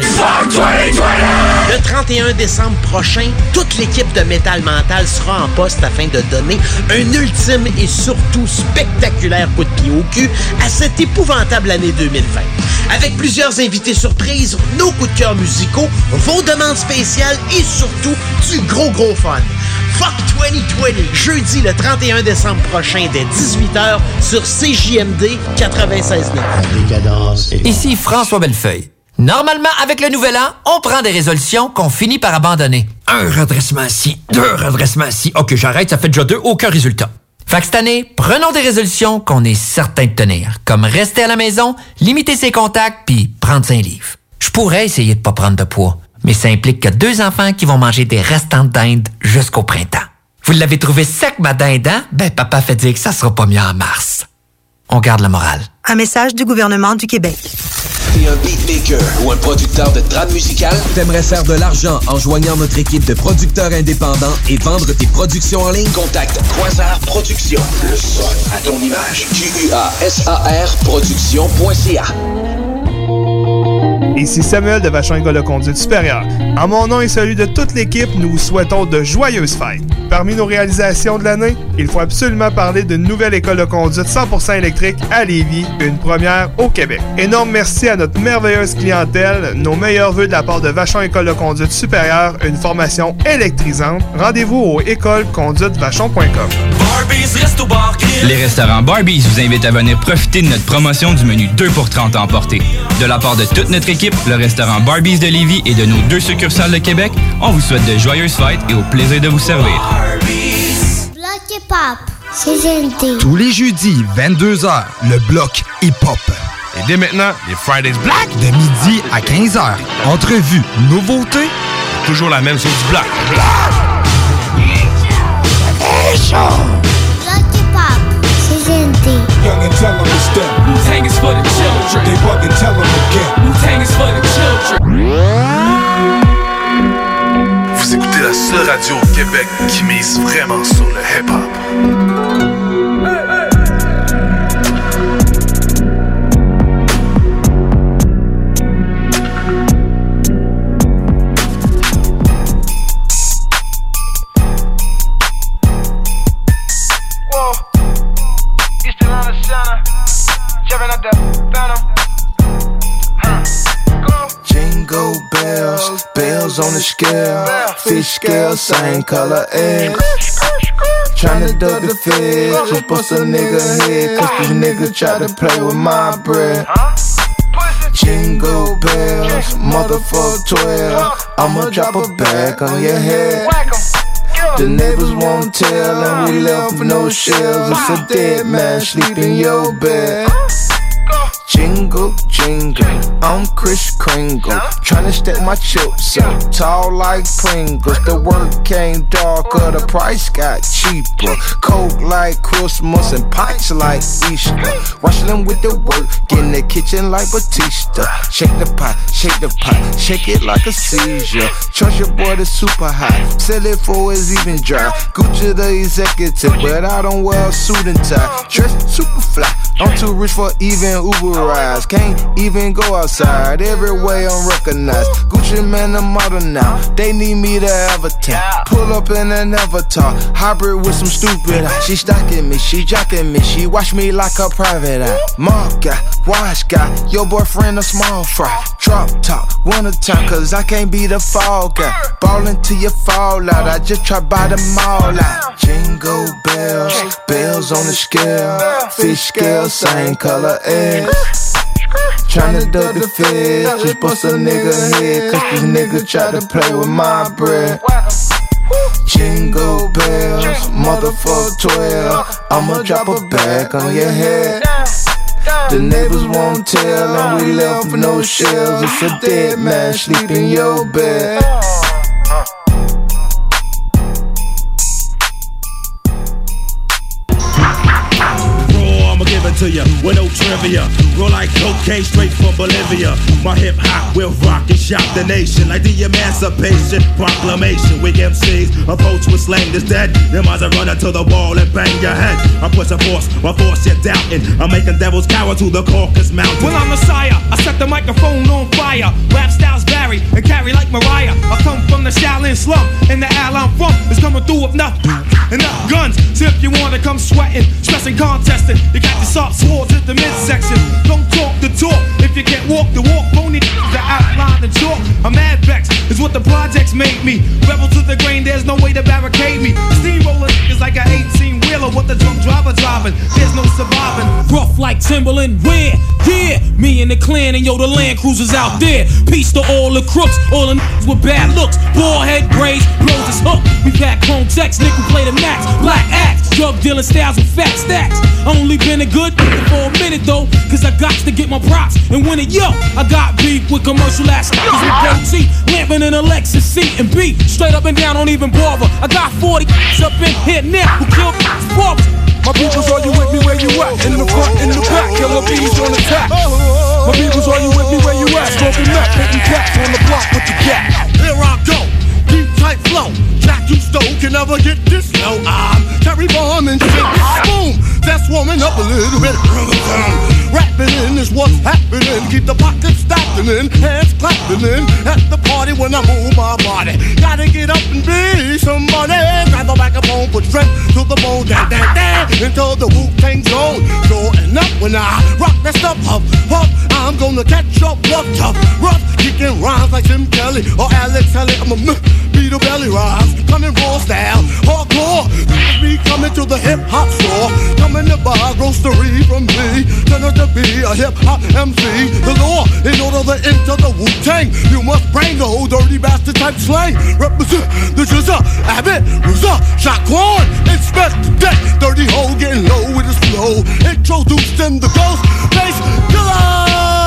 Le trente et un décembre prochain, toute l'équipe de Métal Mental sera en poste afin de donner un ultime et surtout spectaculaire coup de pied au cul à cette épouvantable année deux mille vingt. Avec plusieurs invités surprises, nos coups de cœur musicaux, vos demandes spéciales et surtout du gros gros fun. Fuck vingt vingt, jeudi le trente et un décembre prochain dès dix-huit heures sur C J M D quatre-vingt-seize neuf. Ici François Bellefeuille. Normalement, avec le nouvel an, on prend des résolutions qu'on finit par abandonner. Un redressement ici, deux redressements ici. OK, j'arrête, ça fait déjà deux, aucun résultat. Fait que cette année, prenons des résolutions qu'on est certain de tenir, comme rester à la maison, limiter ses contacts, puis prendre cinq livres. Je pourrais essayer de pas prendre de poids, mais ça implique que deux enfants qui vont manger des restants de dinde jusqu'au printemps. Vous l'avez trouvé sec, ma dinde, hein? Ben, papa fait dire que ça sera pas mieux en mars. On garde le moral. Un message du gouvernement du Québec. T'es un beatmaker ou un producteur de trame musicale? T'aimerais faire de l'argent en joignant notre équipe de producteurs indépendants et vendre tes productions en ligne? Contacte Quasar Productions. Le son à ton image. Q U A S A R Productions point C A. Ici Samuel de Vachon École de Conduite Supérieure. En mon nom et celui de toute l'équipe, nous vous souhaitons de joyeuses fêtes. Parmi nos réalisations de l'année, il faut absolument parler d'une nouvelle école de conduite cent pour cent électrique à Lévis, une première au Québec. Énorme merci à notre merveilleuse clientèle, nos meilleurs vœux de la part de Vachon École de Conduite Supérieure, une formation électrisante. Rendez-vous au école conduite vachon point com. Les restaurants Barbies vous invitent à venir profiter de notre promotion du menu deux pour trente à emporter. De la part de toute notre équipe, le restaurant Barbies de Lévis et de nos deux succursales de Québec, on vous souhaite de joyeuses fêtes et au plaisir de vous servir. Bloc hip-hop, c'est G M D. Tous les jeudis, vingt-deux heures, le bloc hip-hop. Et dès maintenant, les Fridays Black. De midi à quinze heures. Entrevue, nouveautés. Toujours la même chose du black. Bloc hip-hop, c'est G M D. Young and tell them to step. Wu-Tang is for the children. They bug and tell them again. Wu-Tang is for the children. Vous écoutez la seule radio au Québec qui mise vraiment sur le hip-hop. Jingle bells, bells on the scale, fish scale, same color eggs. Tryna duck the feds, just bust a nigga head, cause these niggas try to play with my bread. Jingle bells, motherfucker twelve, I'ma drop a bag on your head. The neighbors won't tell, and we left with no shells. It's a dead man sleep in your bed. Jingle, jingle, I'm Chris Kringle, tryna stack my chips up, tall like Pringles. The work came darker, the price got cheaper. Coke like Christmas and pints like Easter. Wrestling with the work, get in the kitchen like Batista. Shake the pot, shake the pot, shake it like a seizure. Trust your boy, the super hot, sell it for it's even dry. Gucci the executive, but I don't wear a suit and tie. Dress super fly, I'm too rich for even Uber rides. Can't even go outside. Every way I'm recognized. Gucci man, I'm modern now. They need me to avatar. Pull up in an avatar. Hybrid with some stupid eye. She stalking me, she jocking me. She watch me like a private eye. Mark guy, watch guy. Your boyfriend a small fry. Drop top, one a time. Cause I can't be the fall guy. Ballin' till you fall out. I just try buy them all out. Jingle bells, bells on the scale. Fish scale, same color eggs. Tryna duck the feds, just bust a nigga head. Cause this nigga try to play with my bread. Jingle bells, motherfucker twelve. I'ma drop a bag on your head. The neighbors won't tell, and we left with no shells. It's a dead man sleep in your bed. To you with no trivia, roll like cocaine straight from Bolivia. My hip hop will rock and shock the nation like the Emancipation Proclamation. We M Cs approach with slang that's dead. Them eyes are running to the wall and bang your head. I push a force, my force you're doubting. I'm making devils cower to the Caucasus Mountain. Well, I'm Messiah, I set the microphone on fire. Rap styles vary and carry like Mariah. I come from the Shaolin slum, and the al I'm from is coming through with enough, enough guns. So if you wanna come sweating, stressing, contesting, you got to soft swords at the midsection. Don't talk the talk if you can't walk the walk. Phony the outline and chalk. I'm mad vex is what the projects made me. Rebel to the grain, there's no way to barricade me. Steamroller is like an eighteen wheeler with the drunk driver driving. There's no surviving. Rough like Timberland, where? Yeah, me and the clan and yo the Land Cruisers out there. Peace to all the crooks, all the niggas with bad looks. Bald head braids, blows his hook. We pack home text, nigga play the max. Black axe, drug dealing styles with fat stacks. Only been a good for a minute though, cause I got to get my props and win it. Yo, I got beef with commercial ass niggas with goatee, lamping in a Lexus C and B, straight up and down, don't even bother. I got forty up in here now who killed fathers. My peoples, are you with me where you at? In the front, in the back, killer bees on attack. My peoples, are you with me where you at? Smoking meth, hitting cats on the block with the cat. Here I go, deep tight flow. Jack you stole can never get this low. I'm Terry Bomb and shit. Boom, that's warming up a little bit. Rapping in is what's happening. Keep the pockets stacking in, hands clapping in. At the party when I move my body, gotta get up and be somebody. Grab the microphone, put strength to the bone, dan dan dan, until the Wu-Tang zone. Going up when I rock that stuff up, up. I'm gonna catch up, rough, tough, rough, kicking rhymes like Tim Kelly or Alex Haley. I'm a beat a belly rise, coming raw style, hardcore. Me coming to the hip hop store, coming to buy grocery from me. Turn out to be a hip hop M C. The law, in order to enter the Wu-Tang, you must bring the old dirty bastard type slang. Represent the Jizza, Abbott, Ruza, Shaquan, inspect the deck. Dirty hole getting low with his flow. Introduced in the ghost bass killer.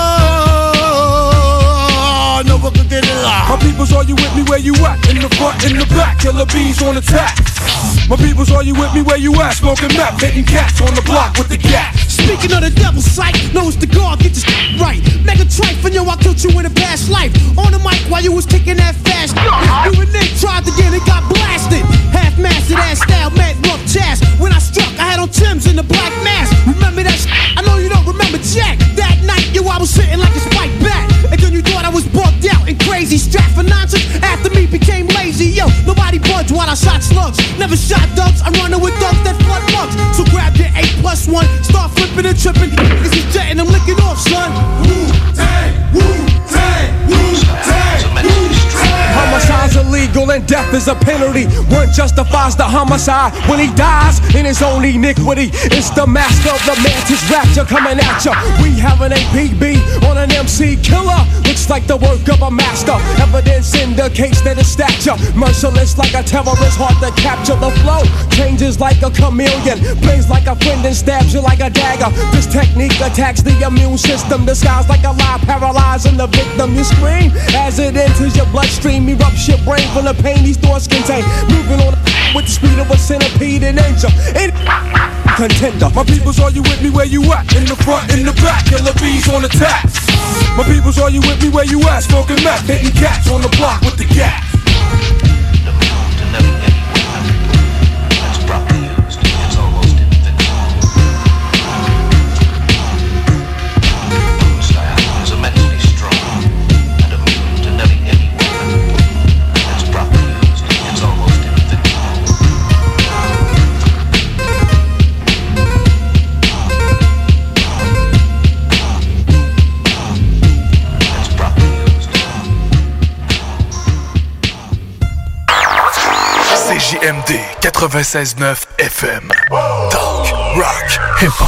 Never could get it out. My peoples, are you with me where you at? In the front, in the back, killer bees on attack. My peoples, are you with me where you at? Smoking meth, hitting cats on the block with the gat. Speaking of the devil's sight, knows the guard, get your shit right. Mega trife, and yo, I killed you in a past life. On the mic while you was kicking that fast. You and Nick tried to get it, got blasted. Half-mastered ass style, mad rough chest. When I struck, I had on Tim's in the black mask. Remember that shit? I know you don't remember Jack. That night, yo, I was sitting like a spike bat. And then you thought I was bugged out and crazy. Strapped for nonsense, after me became lazy. Yo, nobody budged while I shot slugs. Never shot ducks, I'm running with ducks that flood mugs. So grab your eight plus one, start flipping and tripping. This is jetting, I'm licking off, son. Wu-Tang, Wu-Tang, Wu-Tang, Wu-Tang. Homicide's illegal and death is a penalty. One justifies the homicide when he dies in his own iniquity. It's the master of the mantis rapture coming at ya. We have an A P B on an M C killer. Looks like the work of a master. Evidence indicates that his stature merciless like a terrorist, hard to capture. The flow changes like a chameleon, plays like a friend and stabs you like a dagger. This technique attacks the immune system, disguised like a lie, paralyzing the victim. You scream as it enters your bloodstream, erupts your brain from the pain these thoughts contain. Moving on with the speed of a centipede and angel. In contender. My peoples, are you with me where you at? In the front, in the back, killer bees on attack. My peoples, are you with me where you at? Smoking meth, hitting cats on the block with the gat. J M D quatre-vingt-seize neuf F M. Talk, rock, hip-hop.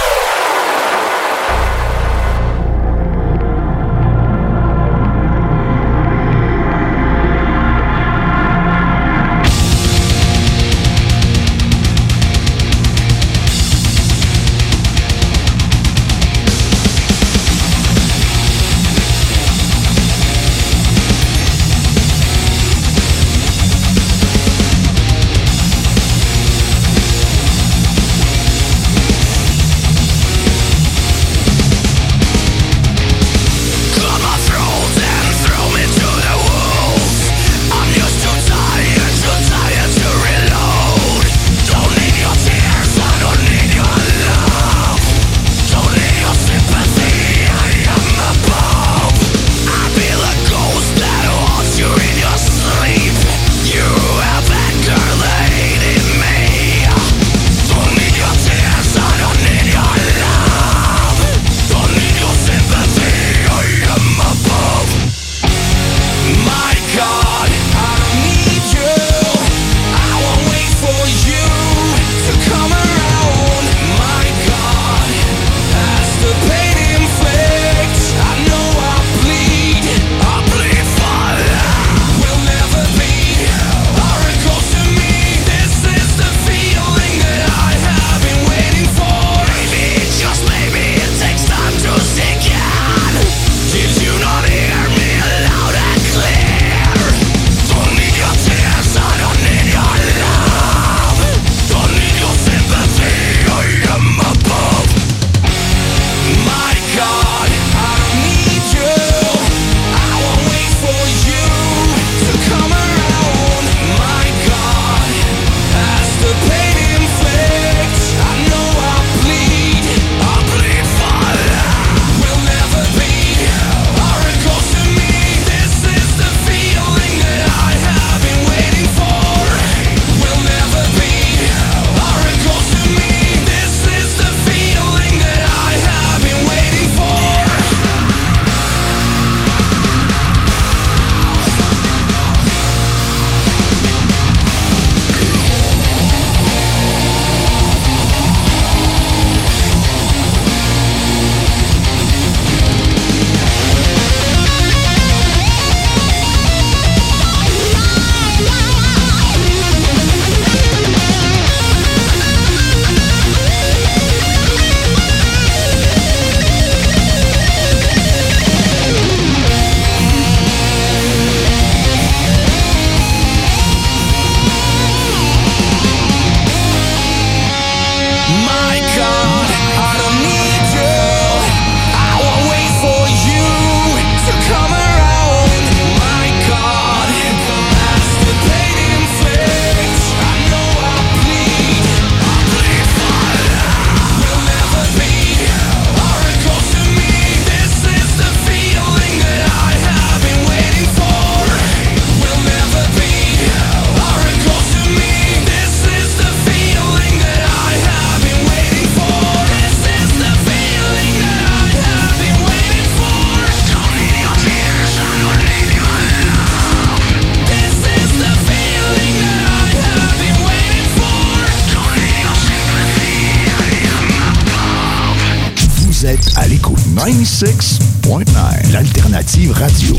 ninety-six point nine, l'alternative radio.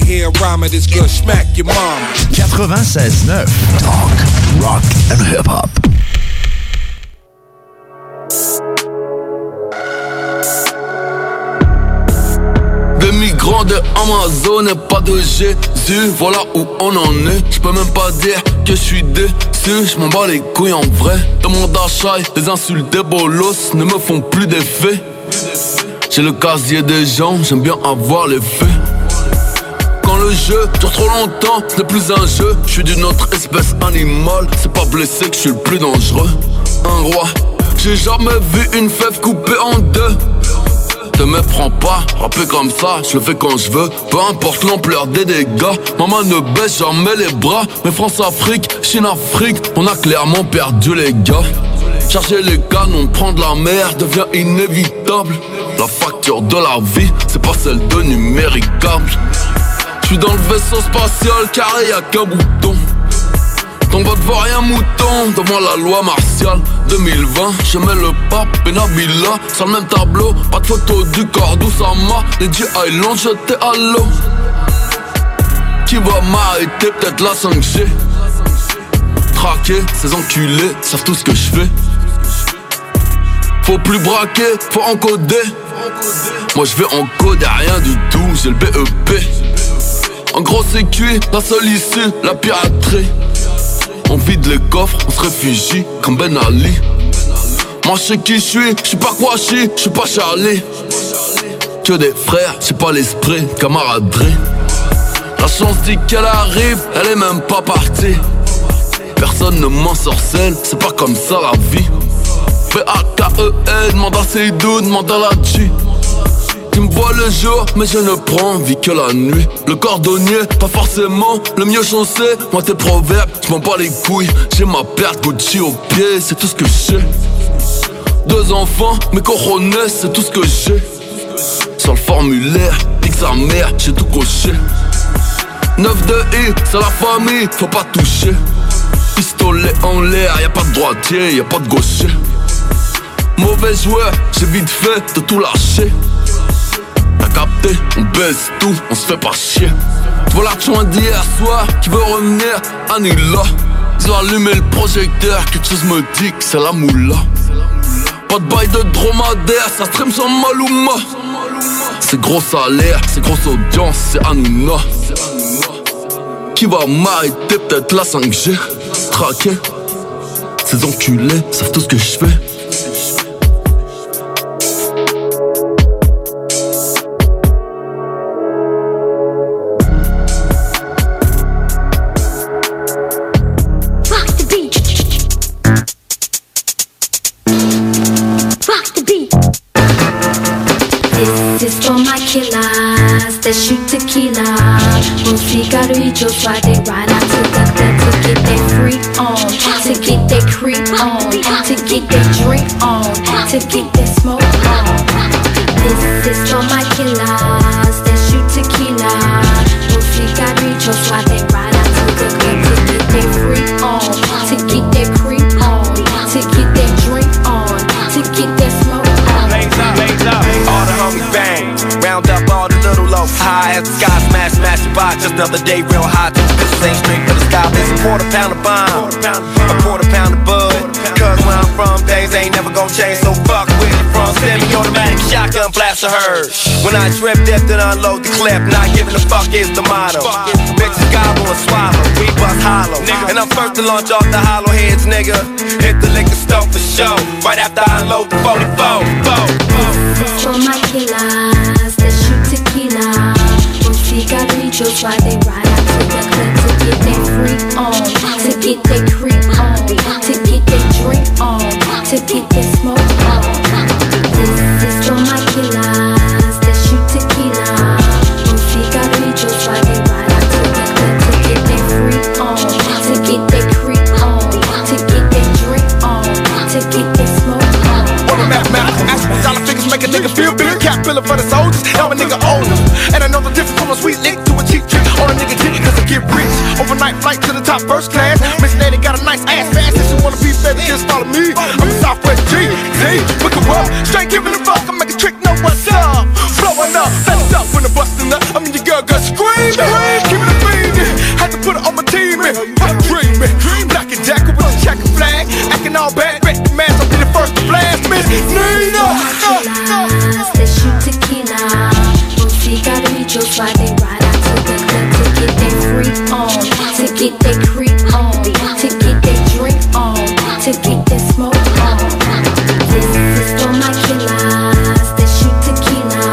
quatre-vingt-seize neuf, talk, rock and hip-hop. Des migrants de Amazon et pas de Jésus, voilà où on en est. Je peux même pas dire que je suis déçu, je m'en bats les couilles en vrai. Dans mon d'achat, les insultes des bolos ne me font plus d'effet. J'ai le casier des gens, j'aime bien avoir les faits. Quand le jeu dure trop longtemps, ce n'est plus un jeu. Je suis d'une autre espèce animale, c'est pas blessé que je suis le plus dangereux. Un roi, j'ai jamais vu une fève coupée en deux. Te méprends pas, rapper comme ça, je le fais quand je veux. Peu importe l'ampleur des dégâts, maman ne baisse jamais les bras. Mais France-Afrique, Chine-Afrique, on a clairement perdu les gars. Charger les canons, prendre la mer devient inévitable. La facture de la vie, c'est pas celle de numéricable. J'suis dans le vaisseau spatial carré, y'a qu'un bouton. Ton vote vaut rien mouton devant la loi martiale. Deux mille vingt, je mets le pape et Nabila sur le même tableau. Pas de photo du corps d'Oussama. Les G Island jetés à l'eau. Qui va m'arrêter, peut-être la cinq G. Traquer, ces enculés savent tout ce que je fais. Faut plus braquer, faut encoder. Moi je vais encoder rien du tout, j'ai le B E P. En gros c'est cuit, la seule issue, la piraterie. On vide les coffres, on se réfugie comme Ben Ali. Moi je sais qui je suis, je suis pas Kouachi, je suis pas Charlie. Que des frères, j'ai pas l'esprit, camaraderie. La chance dit qu'elle arrive, elle est même pas partie. Personne ne m'ensorcelle, c'est pas comme ça la vie. P A K E N, demande à Seydou, demande à la G. Tu me vois le jour, mais je ne prends vie que la nuit. Le cordonnier, pas forcément le mieux chaussé. Moi tes proverbes, je m'en bats les couilles. J'ai ma paire Gucci au pied, c'est tout ce que j'ai. Deux enfants, mes coronets, c'est tout ce que j'ai. Sur le formulaire, nique sa mère, j'ai tout coché. neuf de I, c'est la famille, faut pas toucher. Pistolet en l'air, y'a pas de droitier, y'a pas de gaucher. Mauvais joueur, j'ai vite fait de tout lâcher. T'as capté, on baisse tout, on se fait pas chier. Tu vois l'argent d'hier soir qui veut revenir, annule-la. Ils ont allumé le projecteur, quelque chose me dit que c'est la moula. Pas de bail de dromadaire, ça stream sans Maluma. C'est gros salaire, c'est grosse audience, c'est Hanouna. Qui va m'arrêter, peut-être la cinq G. Traqué, ces enculés savent tout ce que je fais. That shoot tequila, un cigarrillo, so they ride out to the club to get that freak on, to get that creep on, to get that drink on, to get that smoke on. This is for my killers that shoot tequila, un cigarrillo, so they ride out to the club to get that freak on, to get that creep on, to get that drink on, to get that smoke on. Blaze up, blaze up, all the homies bang, round up all the little low. High as the sky, smash, smash the box. Just the other day, real high. Two bitches ain't straight for the sky. It's a quarter pound of bomb, a quarter pound of bud. Cause where I'm from, things ain't never gon' change. So fuck with it from semi-automatic shotgun blast of hers. When I trip, dip, then unload the clip. Not giving a fuck is the motto. Bitches gobble and swallow, we bust hollow. And I'm first to launch off the hollow heads, nigga. Hit the liquor store for show. Right after I unload the forty-four. This is for my killers that shoot tequila. Cigarrillos while they ride out to the club to get that freak on, to get that creep on, to get that drink on, to get that smoke on. This is for my killers that shoot tequila. Cigarrillos while they ride out to the club to get that freak on, to get that creep on, to get that drink on, to get that smoke on. All the mathematical aspects, dollar figures make a nigga feel big. Cap filler for the soldiers, now a nigga older. And I know the difference from a sweet lick to a cheap trick. All a nigga get it cause I get rich. Overnight flight to the top first class. Miss Lady got a nice ass fast. If you wanna be better, just follow me. I'm a Southwest G, Z, look at what? Straight giving a fuck, I make a trick, know what's up. Blowing up, that's up when the bustin' up. I mean your girl got screaming, keeping it beaming. Had to put it on my team in, I'm dreaming. Black and jacket with a checker flag, acting all bad, great man, I'll be the first to blast. Miss Nina, that shoot tequila. Cigarrillos while they ride out to the club to get that freak on, to get that creep on, to get that drink on, to get that smoke on. This is for my killers that shoot tequila.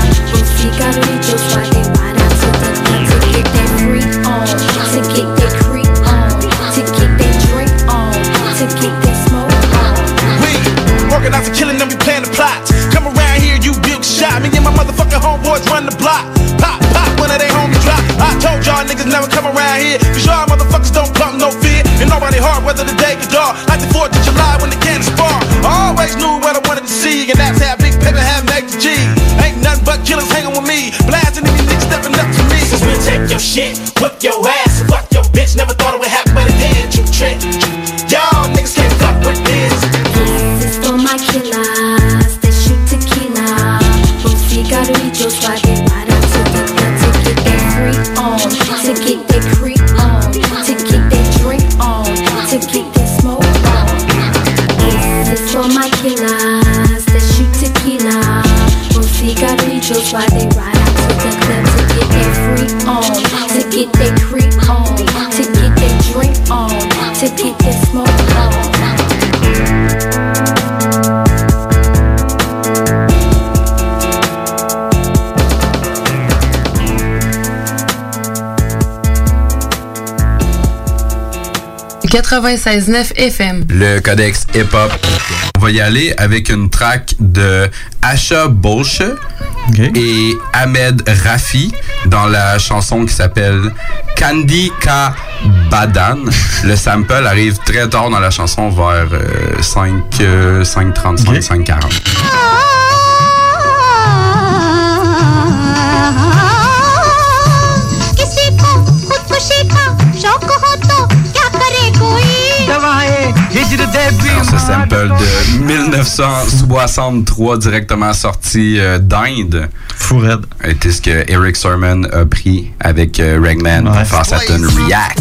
Cigarrillos while they ride out to the club to get that freak on, to get that creep on, to get that drink on, to get that smoke on. We organize a killing and we plan the plots. Come around here, you build shot. Me and my motherfucking homeboys run the block. Pop, pop, when they homies drop. I told y'all niggas never come around here, cause y'all motherfuckers don't pump no fear. And nobody hard, whether the day or dark. Like the fourth of July when the cannons spark. I always knew what I wanted to see, and that's how big paper had make the G. Ain't nothing but killers hanging with me, blasting any niggas stepping up to me. Since we take your shit, whip your ass, fuck your bitch. Never thought it would happen, but it did. You why they ride out to the club to get their freak on, to get their creep on, to get their drink on, to get their smoke on. quatre-vingt-seize neuf F M. Le codex hip-hop. On va y aller avec une track de Asha Bolche okay. et Ahmed Rafi dans la chanson qui s'appelle Candy Ka Badan. Le sample arrive très tard dans la chanson, vers euh, cinq trente-cinq, okay. cinq quarante. Alors, ce sample de mille neuf cent soixante-trois directement sorti euh, d'Inde. Fou raide. Était ce que Eric Sermon a pris avec euh, Ragman ouais. pour faire sa tune React.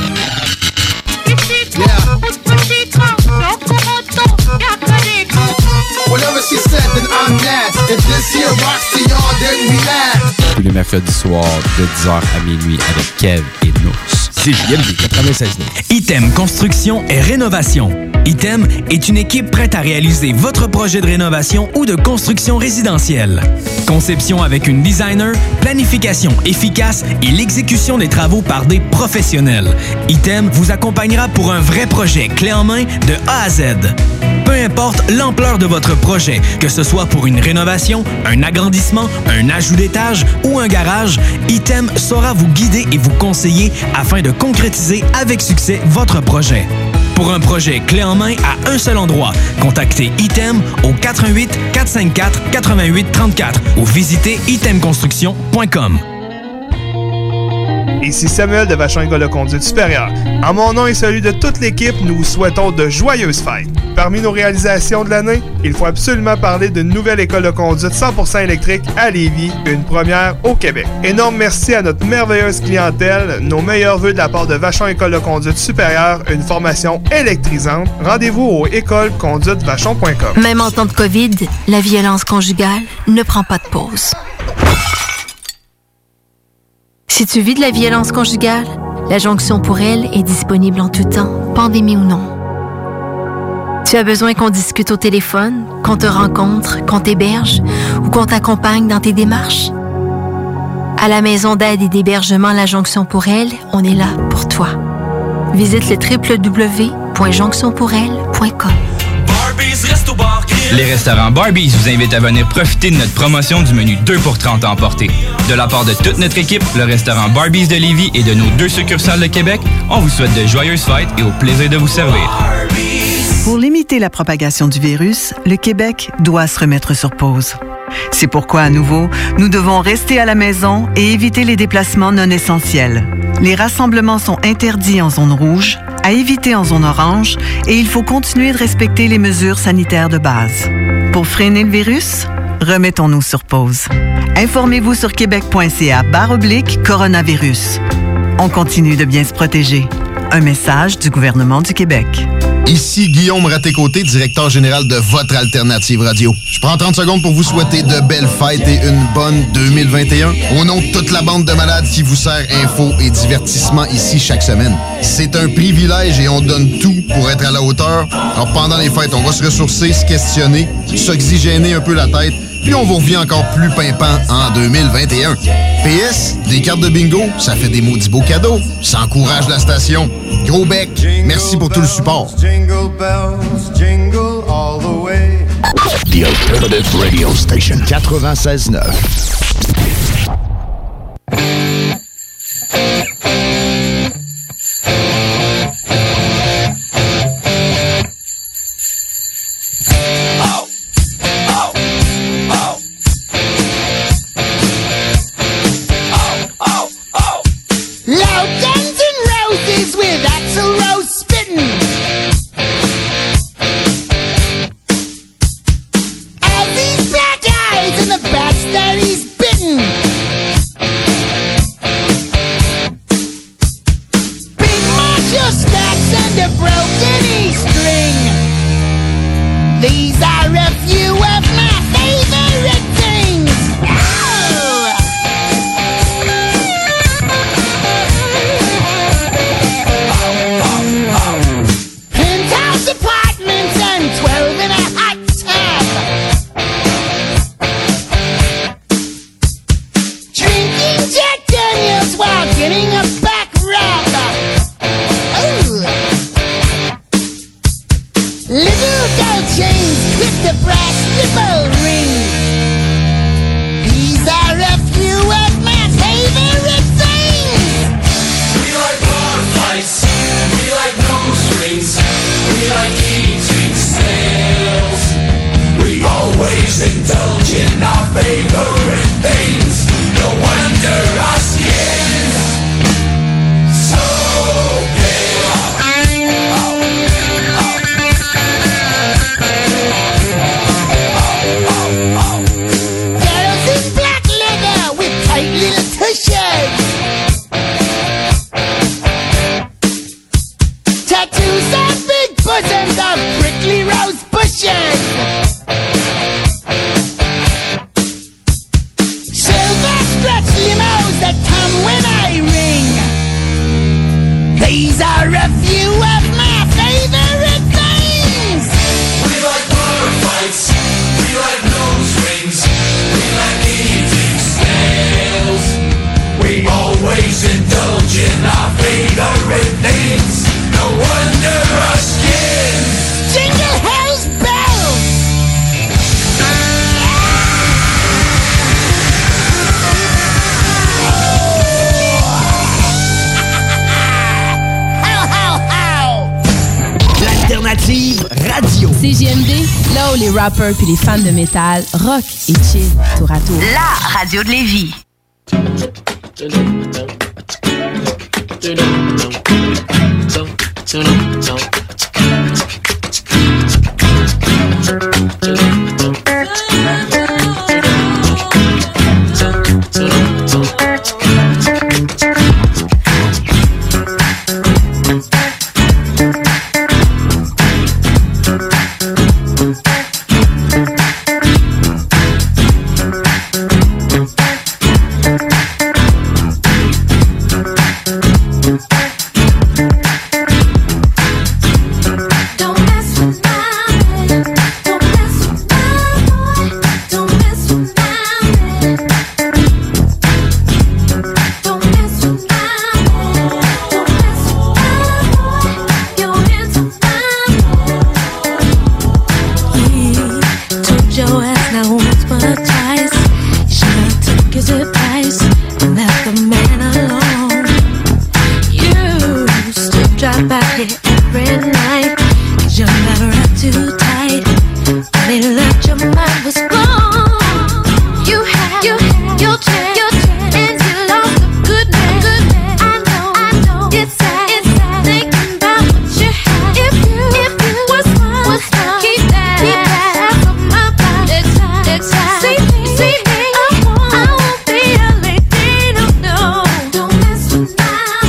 Tous les mercredis soirs de dix heures à minuit avec Kev et Nous. C J M D quatre-vingt-seize neuf. Item Construction et Rénovation. Item est une équipe prête à réaliser votre projet de rénovation ou de construction résidentielle. Conception avec une designer, planification efficace et l'exécution des travaux par des professionnels. Item vous accompagnera pour un vrai projet clé en main de A à Z. Peu importe l'ampleur de votre projet, que ce soit pour une rénovation, un agrandissement, un ajout d'étage ou un garage, Item saura vous guider et vous conseiller afin de concrétiser avec succès votre projet. Pour un projet clé en main à un seul endroit, contactez Item au quatre un huit, quatre cinq quatre, huit huit trois quatre ou visitez item construction point com. Ici Samuel de Vachon École de Conduite Supérieure. En mon nom et celui de toute l'équipe, nous vous souhaitons de joyeuses fêtes. Parmi nos réalisations de l'année, il faut absolument parler d'une nouvelle école de conduite cent pour cent électrique à Lévis, une première au Québec. Énorme merci à notre merveilleuse clientèle, nos meilleurs vœux de la part de Vachon École de Conduite Supérieure, une formation électrisante. Rendez-vous au école conduite vachon point com. Même en temps de COVID, la violence conjugale ne prend pas de pause. Si tu vis de la violence conjugale, la jonction pour elle est disponible en tout temps, pandémie ou non. Tu as besoin qu'on discute au téléphone, qu'on te rencontre, qu'on t'héberge ou qu'on t'accompagne dans tes démarches? À la maison d'aide et d'hébergement La Jonction pour elle, on est là pour toi. Visite le w w w point jonction pour elle point com. Les restaurants Barbies vous invitent à venir profiter de notre promotion du menu deux pour trente à emporter. De la part de toute notre équipe, le restaurant Barbies de Lévis et de nos deux succursales de Québec, on vous souhaite de joyeuses fêtes et au plaisir de vous servir. Pour limiter la propagation du virus, le Québec doit se remettre sur pause. C'est pourquoi, à nouveau, nous devons rester à la maison et éviter les déplacements non essentiels. Les rassemblements sont interdits en zone rouge, à éviter en zone orange, et il faut continuer de respecter les mesures sanitaires de base. Pour freiner le virus, remettons-nous sur pause. Informez-vous sur québec point c a barre oblique coronavirus. On continue de bien se protéger. Un message du gouvernement du Québec. Ici Guillaume Raté-Côté, directeur général de votre Alternative Radio. Je prends trente secondes pour vous souhaiter de belles fêtes et une bonne deux mille vingt et un. Au nom de toute la bande de malades qui vous sert info et divertissement ici chaque semaine. C'est un privilège et on donne tout pour être à la hauteur. Alors pendant les fêtes, on va se ressourcer, se questionner, s'oxygéner un peu la tête, puis on vous revient encore plus pimpant en deux mille vingt et un. P S, des cartes de bingo, ça fait des maudits beaux cadeaux. Ça encourage la station. Gros bec, merci pour tout le support. Jingle bells, jingle all the way. The Alternative Radio Station quatre-vingt-seize neuf. Twelve departments and twelve in a hot tub. Drinking Jack Daniels while getting a back rub. Ooh. Little gold chains clip the brass nipple ring. These are a few of my favorite things. We like bar fights, we like nose rings, we like eating snails. We always indulge in our favorite things. No wonder our skin so Girls in black leather with tight little tushes. Tattoos on big bosoms of prickly rose bushes. Silver stretch limos that come when I ring. These are a few of my favorite things. We like bar fights, we like nose rings, we like eating snails. We always indulge in our favorite things. No wonder our skin Jingle Hell's bells. How, how, how. L'alternative radio. C J M D, là où les rappers puis les fans de métal rock et chill tour à tour. La radio de Lévis.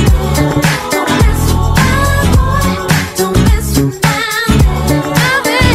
Don't mess with my boy.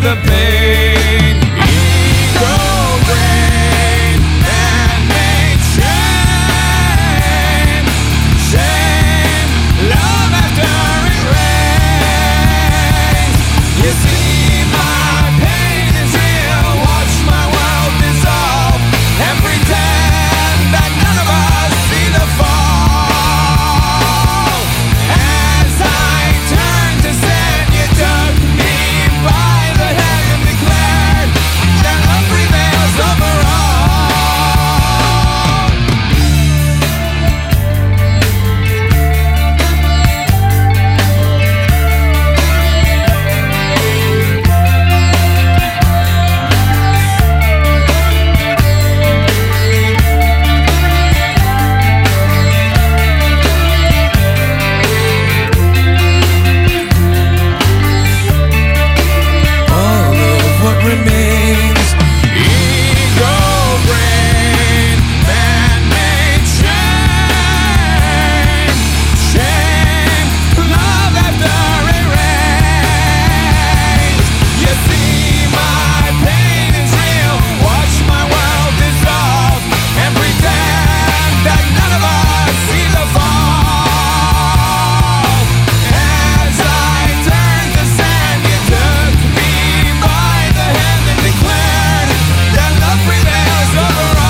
the pain. Ego brain, man-made shame. Shame, love after it rains. You see my pain is real. Watch my world dissolve and pretend that none of us see the fall. As I turn to sin, you took me by the hand and declared that love prevails over all. All of what remains, ego brain, man-made shame. Shame, love after it rains. You see my pain is real. Watch my world dissolve and pretend that none of us see the fall. As I turn to sand, you took me by the hand and declared that love prevails over all.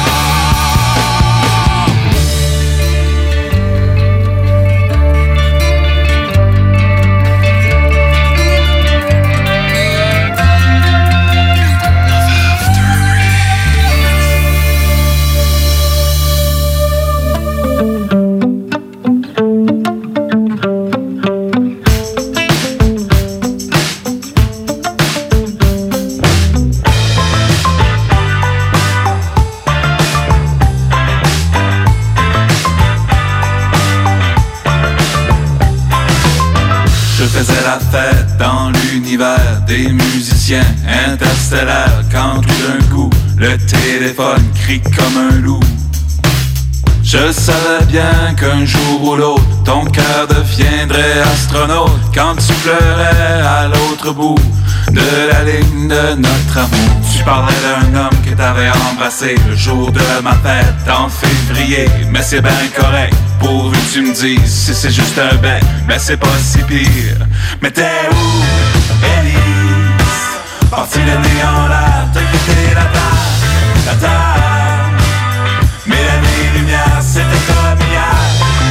Je faisais la fête dans l'univers des musiciens interstellaires quand tout d'un coup le téléphone crie comme un loup. Je savais bien qu'un jour ou l'autre ton cœur deviendrait astronaute quand tu pleurais à l'autre bout de la ligne de notre amour. Tu parlais d'un homme que t'avais embrassé le jour de ma fête en février. Mais c'est ben correct, pourvu que tu me dises si c'est juste un bec, mais c'est pas si pire. Mais t'es où, Élise? Parti le nez en l'air, t'as quitté la terre, la terre. Mais l'année lumière, c'était comme hier.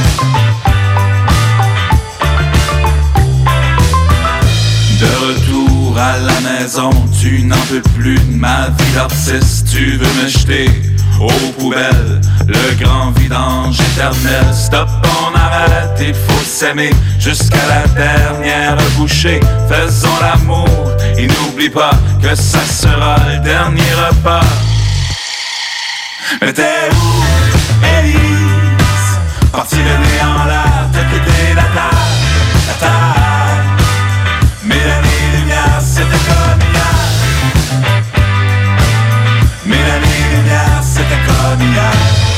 De retour à la maison, tu n'en peux plus de ma vie d'artiste. Tu veux me jeter aux poubelles, le grand vidange éternel. Stop, on arrête, il faut s'aimer jusqu'à la dernière bouchée. Faisons l'amour et n'oublie pas que ça sera le dernier repas. Mais t'es où, Élise? Parti le nez en l'air, t'as quitté la terre, la terre. Mais l'année lumière, c'était comme hier. Mais l'année lumière, c'était comme hier.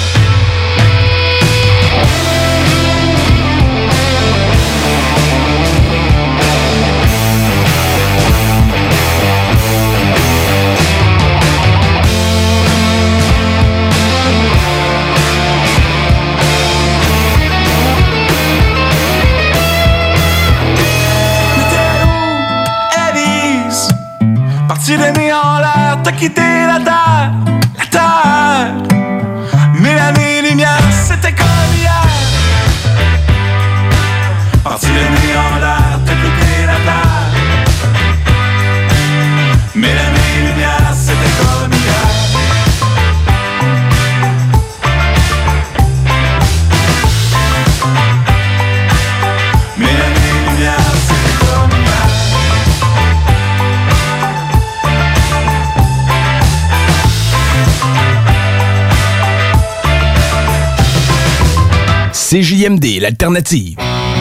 Parti le nez en l'air, t'as quitté la terre, la terre. Mais l'année lumière, c'était comme hier. Parti le nez en l'air, t'as quitté la terre. Mais l'année lumière, c'était comme hier. Mais l'année lumière, c'était comme hier. C J M D, l'alternative.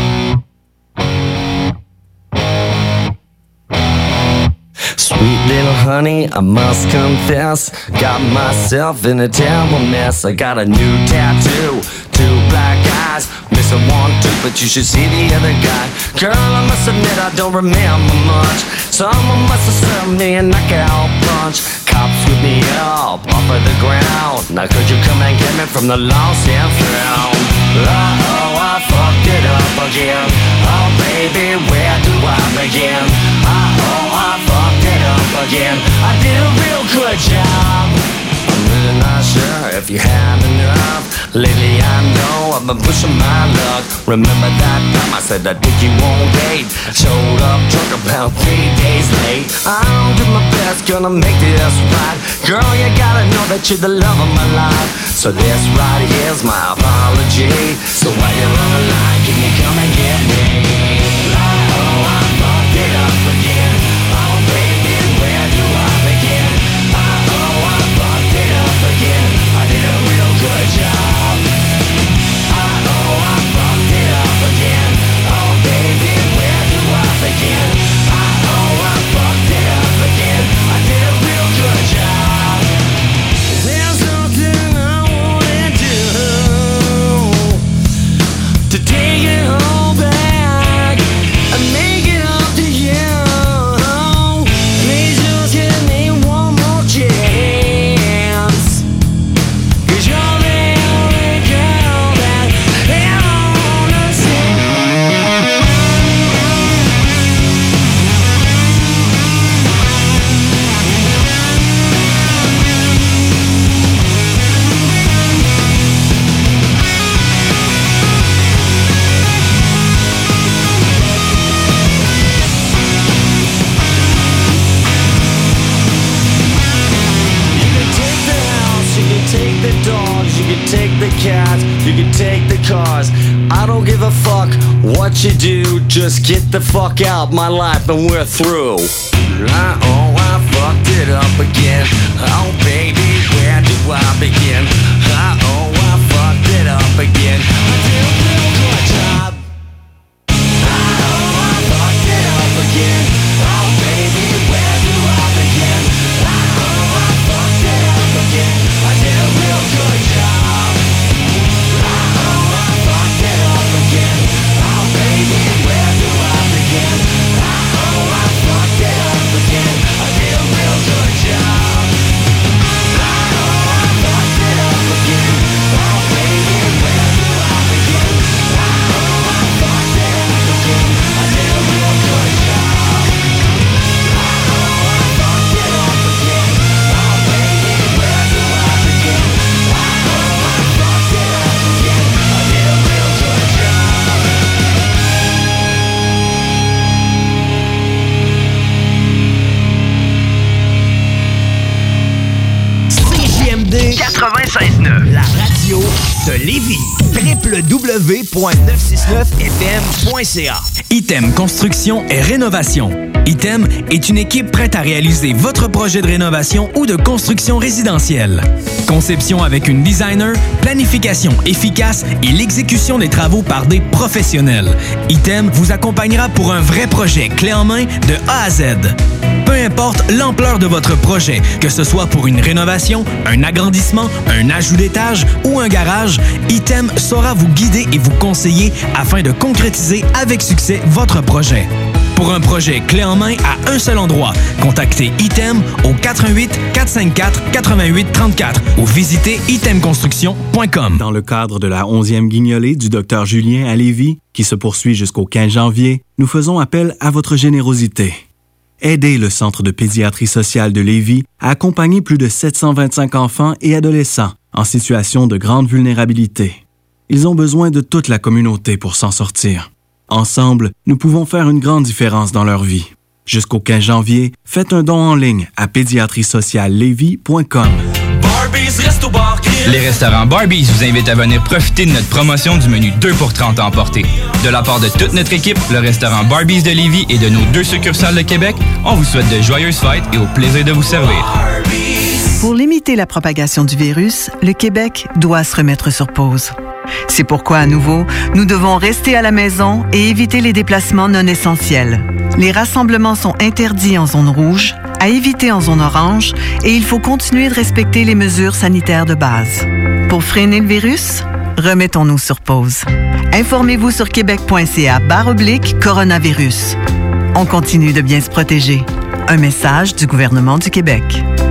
Sweet little honey, I must confess, got myself in a terrible mess. I got a new tattoo, two black eyes, missing one tooth you should see the other guy. Girl, I must admit I don't remember much. Someone must have served me a knockout punch. Cops with me up off of the ground. Now could you come and get me from the lost and found? Uh-oh, I fucked it up again. Oh baby, where do I begin? Uh-oh, I fucked it up again. I did a real good job. I'm really not sure if you have enough. Lately I know I've been pushing my luck. Remember that time I said I'd take you on date? Showed up drunk about three days late. I'll do my best, gonna make this right. Girl, you gotta know that you're the love of my life. So this right here's my apology. So while you're on the line, can you come and get me? Oh, I fucked it up again. Oh baby, where do I begin? Oh, I fucked it up again. I did a real good job. Oh, I fucked it up again. Oh baby, where do I begin? Oh, I fucked it up again. I did a real good job. There's something I wanna do to take it all back and make it up to you. Please just give me one more chance, 'cause you're the only girl that I wanna see. Take the dogs, you can take the cats, you can take the cars. I don't give a fuck what you do, just get the fuck out my life and we're through. Oh, I fucked it up again. Oh baby, where do I begin? Oh, I fucked it up again. I did a real good job. Oh, I fucked it up again. Oh baby, where do I begin? Oh, I fucked it up again. I did a real good job. Oh, I fucked it up again. Oh baby, where do I begin? Oh, I fucked it up again. I did a real good job. Oh, I fucked it up again. Oh baby, where do I begin? Oh, I fucked it up again. I did a real good job. Oh, I fucked it up again. Oh baby, where do I begin? Oh, I fucked it up again. I did a real good job. C J M D quatre-vingt-seize neuf, la radio de Lévis. w w w point neuf cent soixante-neuf f m point c a. Item Construction et Rénovation. Item est une équipe prête à réaliser votre projet de rénovation ou de construction résidentielle. Conception avec une designer, planification efficace et l'exécution des travaux par des professionnels. Item vous accompagnera pour un vrai projet clé en main de A à Z. Peu importe l'ampleur de votre projet, que ce soit pour une rénovation, un agrandissement, un ajout d'étage ou un garage, Item saura vous guider et vous conseiller afin de concrétiser avec succès votre projet. Pour un projet clé en main à un seul endroit, contactez Item au quatre un huit, quatre cinq quatre, huit huit trois quatre ou visitez item construction point com. Dans le cadre de la onzième guignolée du docteur Julien à Lévis, qui se poursuit jusqu'au quinze janvier, nous faisons appel à votre générosité. Aidez le Centre de pédiatrie sociale de Lévis à accompagner plus de sept cent vingt-cinq enfants et adolescents en situation de grande vulnérabilité. Ils ont besoin de toute la communauté pour s'en sortir. Ensemble, nous pouvons faire une grande différence dans leur vie. Jusqu'au quinze janvier, faites un don en ligne à pédiatrie sociale lévis point com. Les restaurants Barbies vous invitent à venir profiter de notre promotion du menu deux pour trente à emporter. De la part de toute notre équipe, le restaurant Barbies de Lévis et de nos deux succursales de Québec, on vous souhaite de joyeuses fêtes et au plaisir de vous servir. Pour limiter la propagation du virus, le Québec doit se remettre sur pause. C'est pourquoi, à nouveau, nous devons rester à la maison et éviter les déplacements non essentiels. Les rassemblements sont interdits en zone rouge, à éviter en zone orange, et il faut continuer de respecter les mesures sanitaires de base. Pour freiner le virus, remettons-nous sur pause. Informez-vous sur québec.ca barre oblique coronavirus. On continue de bien se protéger. Un message du gouvernement du Québec.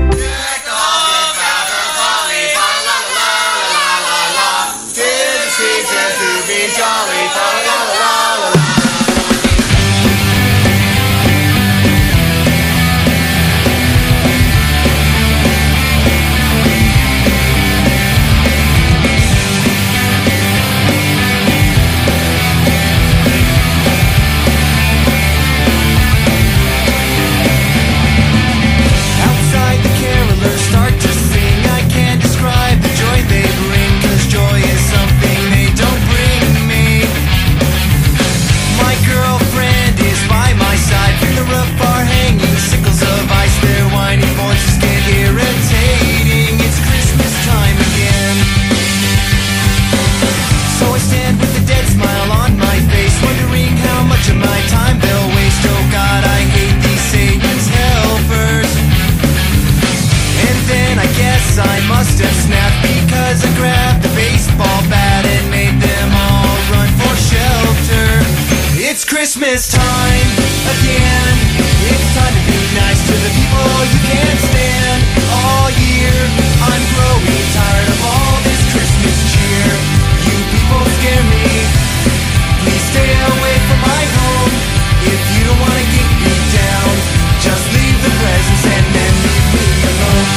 I must have snapped because I grabbed the baseball bat and made them all run for shelter. It's Christmas time again. It's time to be nice to the people you can't stand. All year I'm growing tired of all this Christmas cheer. You people scare me. Please stay away from my home. If you don't want to get me down, just leave the presents and then leave me alone.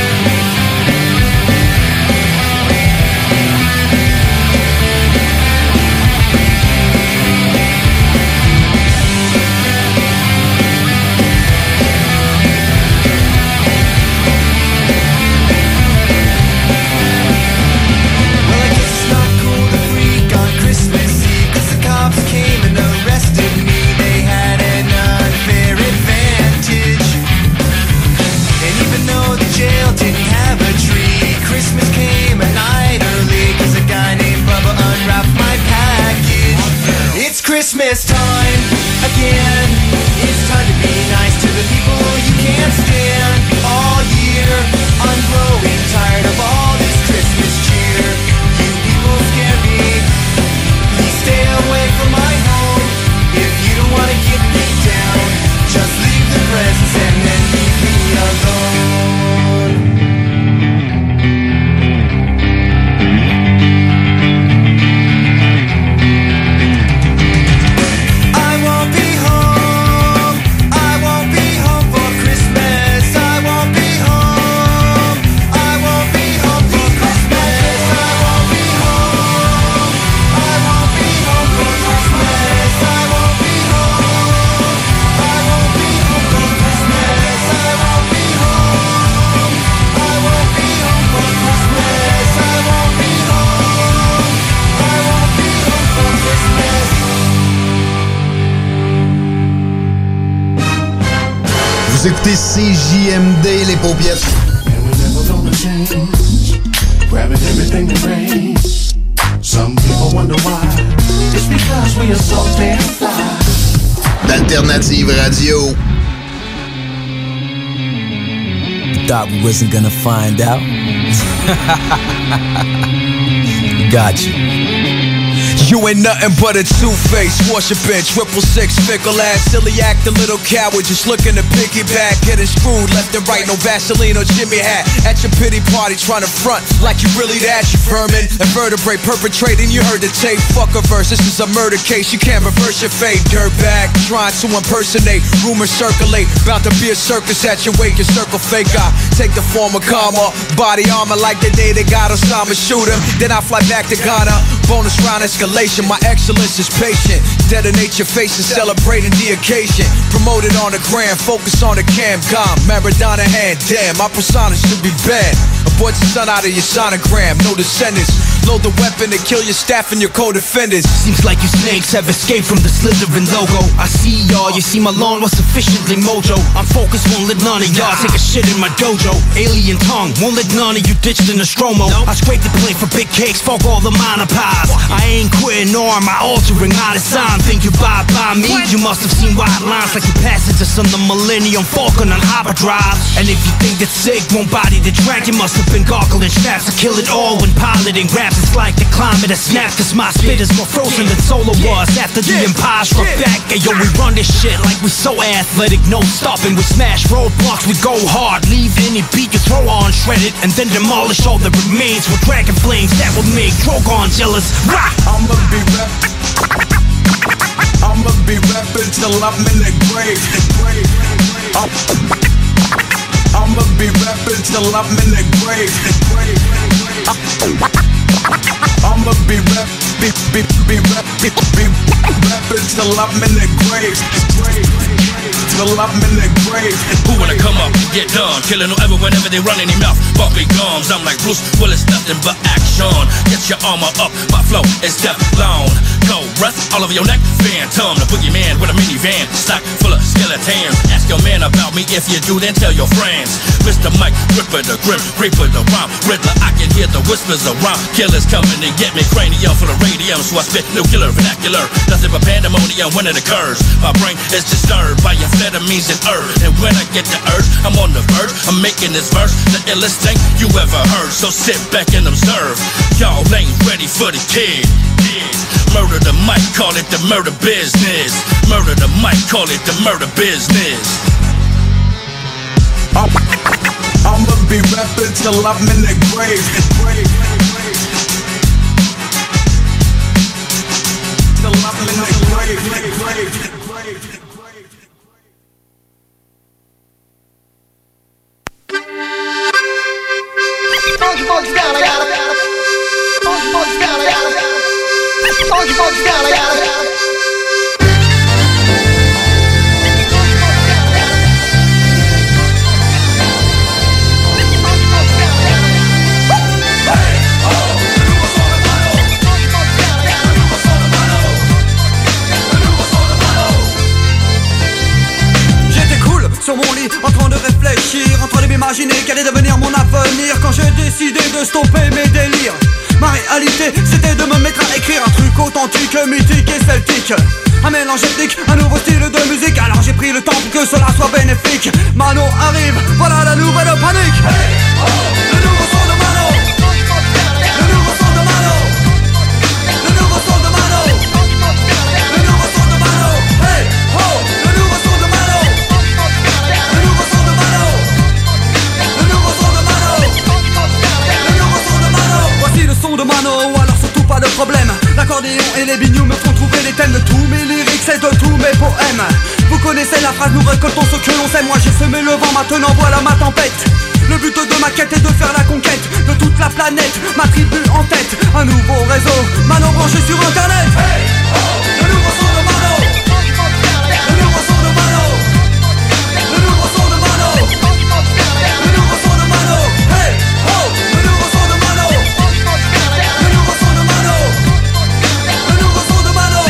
Christmas time again. It's time to be nice to the people you can't stand. All year I'm growing tired of all this Christmas cheer. You people scare me. Please stay away from my home. If you don't want to get me down, just leave the presents and then leave me alone. Vous écoutez C J M D, les paupiètes. Grabbing everything that rains. Some people wonder why. It's because we are so damn fly. D'Alternative Radio. Thought we wasn't gonna find out. Got you. You ain't nothing but a two-face, worshiping, triple six, fickle ass, silly act, a little coward, just looking to piggyback, getting screwed left and right, no Vaseline or Jimmy hat. At your pity party, trying to front like you really that, you vermin, invertebrate, perpetrating, you heard the tape, fuck a verse, this is a murder case, you can't reverse your fate, dirtbag, trying to impersonate, rumors circulate, bout to be a circus at your wake, your circle fake, I take the form of karma, body armor like the day they got Osama, shoot him, then I fly back to Ghana, bonus round escalation. My excellence is patient. Detonate your face and celebrating the occasion. Promoted on the gram, focus on the cam. Gone, Maradona hand, damn, my persona should be bad. Abort the sun out of your sonogram, no descendants. Load the weapon to kill your staff and your co-defenders. Seems like you snakes have escaped from the Slytherin logo. I see y'all, you see my lawn was sufficiently mojo. I'm focused, won't let none of y'all take a shit in my dojo. Alien tongue, won't let none of you ditched in the stromo. I scrape the plate for big cakes, fuck all the minor pies. I ain't quitting nor am I altering out of sign. Think you buy by me? You must have seen white lines like you passengers on the Millennium Falcon on hyperdrive. And if you think that sick won't body the track, you must have been gargling straps. I kill it all when piloting raps. It's like the climate has snapped, cause my spit is more frozen than solar was after the empire struck back. Hey yo, we run this shit like we so athletic, no stopping. We smash roadblocks, we go hard, leave any beat you throw on shredded, and then demolish all that remains with dragon flames that will make Drogon jealous. Rah! I'ma be rap. I'ma be rapping till I'm in the grave. I'ma be rapping till I'm in the grave. I'ma be rap, be, be, be rap, be, be rapping till I'm in the grave. Till I'm in the grave. Who wanna come up and get done? Killing whoever whenever they run in their mouth. Bumping gums, I'm like Bruce Willis, nothing but action. Get your armor up, my flow is Teflon. Go breath all over your neck, phantom. The boogeyman with a minivan, stock full of skeletons. Ask your man about me, if you do, then tell your friends. Mister Mike, Ripper the Grim, Reaper the Rhyme, Riddler, I can hear the whispers of rhyme. Killers coming to get me, cranium full of radium, so I spit nuclear vernacular. Nothing but pandemonium when it occurs. My brain is disturbed by amphetamines and herb, and when I get the urge, I'm on the verge. I'm making this verse the illest thing you ever heard. So sit back and observe. Y'all ain't ready for the kid. Murder the mic, call it the murder business. Murder the mic, call it the murder business. I'ma be rapping till I'm in the grave. Till I'm in the grave. Funky Funky down, I got it. Funky Funky down, I got it. Funky Funky down, I got it. Sur mon lit, en train de réfléchir, en train de m'imaginer quel est devenir mon avenir. Quand j'ai décidé de stopper mes délires, ma réalité c'était de me mettre à écrire un truc authentique, mythique et celtique. Un mélange ethnique, un nouveau style de musique. Alors j'ai pris le temps pour que cela soit bénéfique. Mano arrive, voilà la nouvelle panique. Hey, oh, le nouveau son de Mano. Le nouveau son de Mano. Le nouveau son de Mano. Le nouveau son de Mano. Hey, oh, le nouveau son de Mano. Le nouveau son de Mano. Le nouveau son de Mano. Le nouveau son de Mano. Voici le son de Mano, alors surtout pas de problème. L'accordéon et les bignoux me font trouver les thèmes de tous mes lyrics et de tous mes poèmes. Vous connaissez la phrase, nous récoltons ce que l'on sait. Moi j'ai semé le vent, maintenant voilà ma tempête. Le but de ma quête est de faire la conquête de toute la planète, ma tribu en tête. Un nouveau réseau, Mano branché sur internet. Hey, oh, le nouveau son de Mano. Le nouveau son de Mano. Le nouveau son de Mano. Le nouveau son de Mano. Hey, oh, le nouveau son de Mano. Le nouveau son de Mano. Le nouveau son de Mano.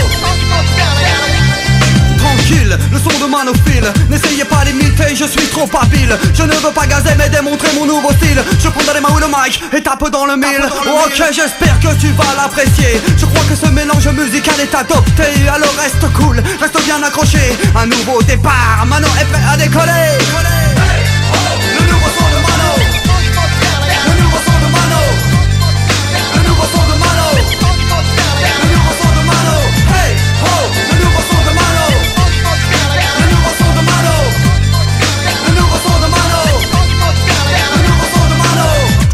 Tranquille, le son de Mano file. N'essayez pas d'imiter, je suis trop habile. Je ne veux pas gazer mais démontrer mon nouveau style. Je prends dans les mains le mic et tape dans le mille. Ok, j'espère que tu vas l'apprécier. Je crois que ce mélange musical est adopté. Alors reste cool, reste bien accroché. Un nouveau départ, Mano est prêt à décoller. Hey, oh, le nouveau son de Mano. Le nouveau son de Mano. Le nouveau son de Mano. Le nouveau son de Mano. Hey, oh, le nouveau son de Mano. Le nouveau son de Mano. Le nouveau son de Mano. Le nouveau son de Mano.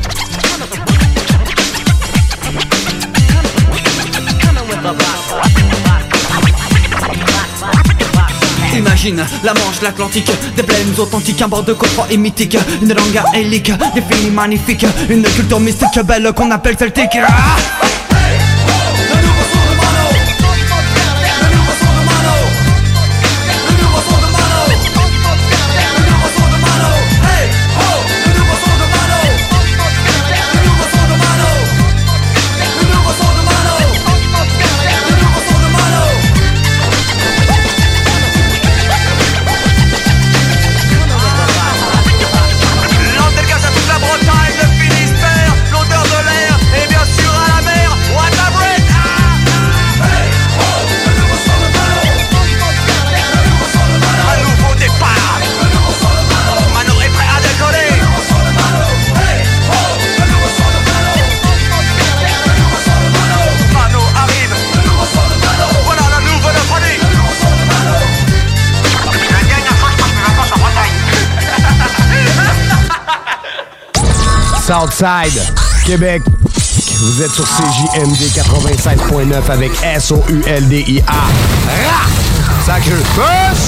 Imagine la Manche, l'Atlantique, des plaines authentiques, un bord de côte froid et mythique, une langue aélique, des films magnifiques, une culture mystique belle qu'on appelle celtique. Ah, l'Andelgaz à toute la Bretagne, le Finistère, l'odeur de l'air et bien sûr à la mer. Southside, Québec. Vous êtes sur C J M D quatre-vingt-seize point neuf avec S O U L D I A. Ra! Sacré push!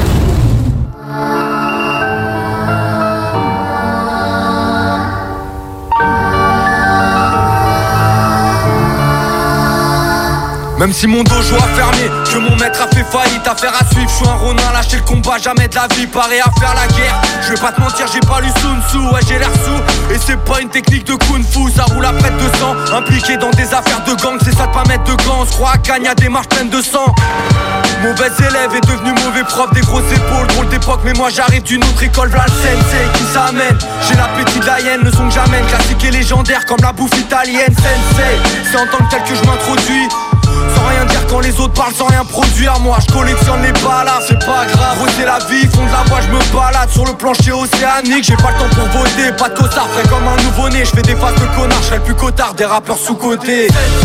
Même si mon dojo a fermé, que mon maître a fait faillite, affaire à suivre, je suis un ronin, lâcher le combat, jamais de la vie, paré à faire la guerre. Je vais pas te mentir, j'ai pas lu Sun Tzu, ouais j'ai l'air sous. Et c'est pas une technique de kung fu, ça roule à près de sang. Impliqué dans des affaires de gang, c'est ça de pas mettre de gants. On se croit à Cannes, y'a des marches pleines de sang. Mauvais élève est devenu mauvais prof, des grosses épaules, drôle d'époque. Mais moi j'arrive d'une autre école, v'là le sensei qui s'amène. J'ai l'appétit de la hyène, le son que j'amène, classique et légendaire comme la bouffe italienne. Sensei, c'est en tant que tel que je m'introduis. Sans rien dire quand les autres parlent, sans rien produire. Moi je collectionne les balades, c'est pas grave. Gros c'est la vie, fond de la voie, je me balade sur le plancher océanique. J'ai pas le temps pour voter, pas de costard, frais comme un nouveau-né. Je fais des faces de connard, je serai le plus cotard des rappeurs sous-cotés.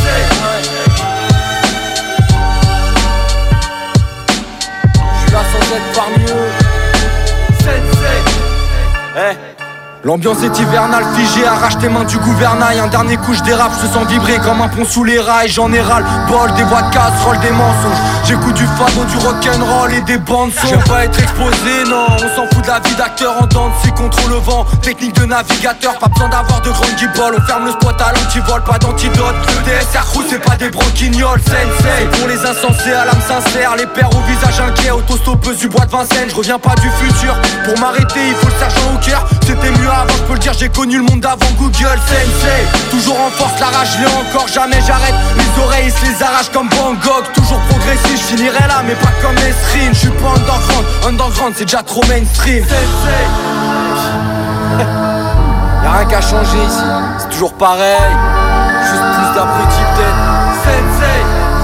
Je suis là sans être parmi eux. Hey. L'ambiance est hivernale, figée, arrache tes mains du gouvernail. Un dernier coup je dérape, je sens vibrer comme un pont sous les rails. J'en ai ras le bol, des voix de casserole, des mensonges. J'écoute du fado, du rock'n'roll et des bandes son. J'aime pas être exposé, non, on s'en fout de la vie d'acteur en dents de scie contre le vent. Technique de navigateur, pas besoin d'avoir de grandes guibolles. On ferme le spot à l'antivol, pas d'antidote. Le D S R crew, c'est pas des broquignoles, sensei. Pour les insensés à l'âme sincère, les pères au visage inquiet, autostoppeuse du bois de Vincennes. Je reviens pas du futur, pour m'arrêter il faut le sergent au cœur. C'était mieux avant, je peux le dire, j'ai connu le monde avant Google. Sensei, toujours en force, la rage, je l'ai encore, jamais j'arrête. Les oreilles se les arrachent comme Van Gogh. Toujours progressif, je finirai là, mais pas comme Esrine. Je suis pas underground, underground c'est déjà trop mainstream. Sensei, y'a rien qu'à changer ici, c'est toujours pareil. Juste plus d'abrutis peut-être. Sensei,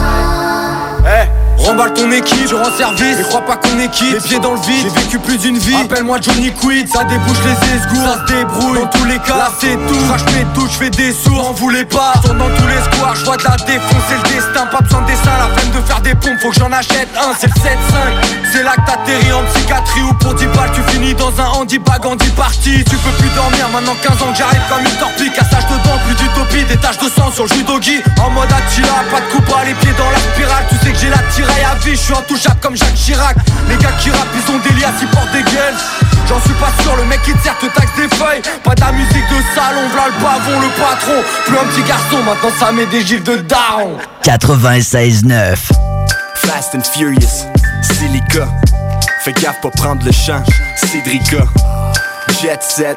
hey. Remballe ton équipe, je rends service, mais crois pas qu'on est quitte. Les pieds dans le vide, j'ai vécu plus d'une vie. Appelle-moi Johnny Quid, ça débouche les esgours, ça se débrouille. Dans tous les cas, là c'est tout. Crache mes touches, je fais des sourds, en voulez pas. Tourne dans tous les squares, je vois de la défonce, c'est le destin. Pas besoin de dessin, la flemme de faire des pompes, faut que j'en achète un, c'est le sept cinq. C'est là que t'atterris en psychiatrie ou pour dix balles, tu finis dans un handibag en dix parties. Tu peux plus dormir, maintenant quinze ans que j'arrive comme une torpille. Cassage de dents, plus d'utopie, des taches de sang sur le judogi. En mode Attila, pas de coupa, les pieds dans la spirale. Tu sais que j'ai la tiraille à vie, je suis intouchable comme Jacques Chirac. Les gars qui rappent, ils ont des liasses, ils portent des gueules. J'en suis pas sûr, le mec qui te sert te taxe des feuilles. Pas de la musique de salon, v'là le pavon, le patron. Plus un petit garçon, maintenant ça met des gifs de daron. quatre-vingt-seize neuf Fast and Furious, Silica. Fais gaffe pas prendre le champ, Cédrica. Jet set,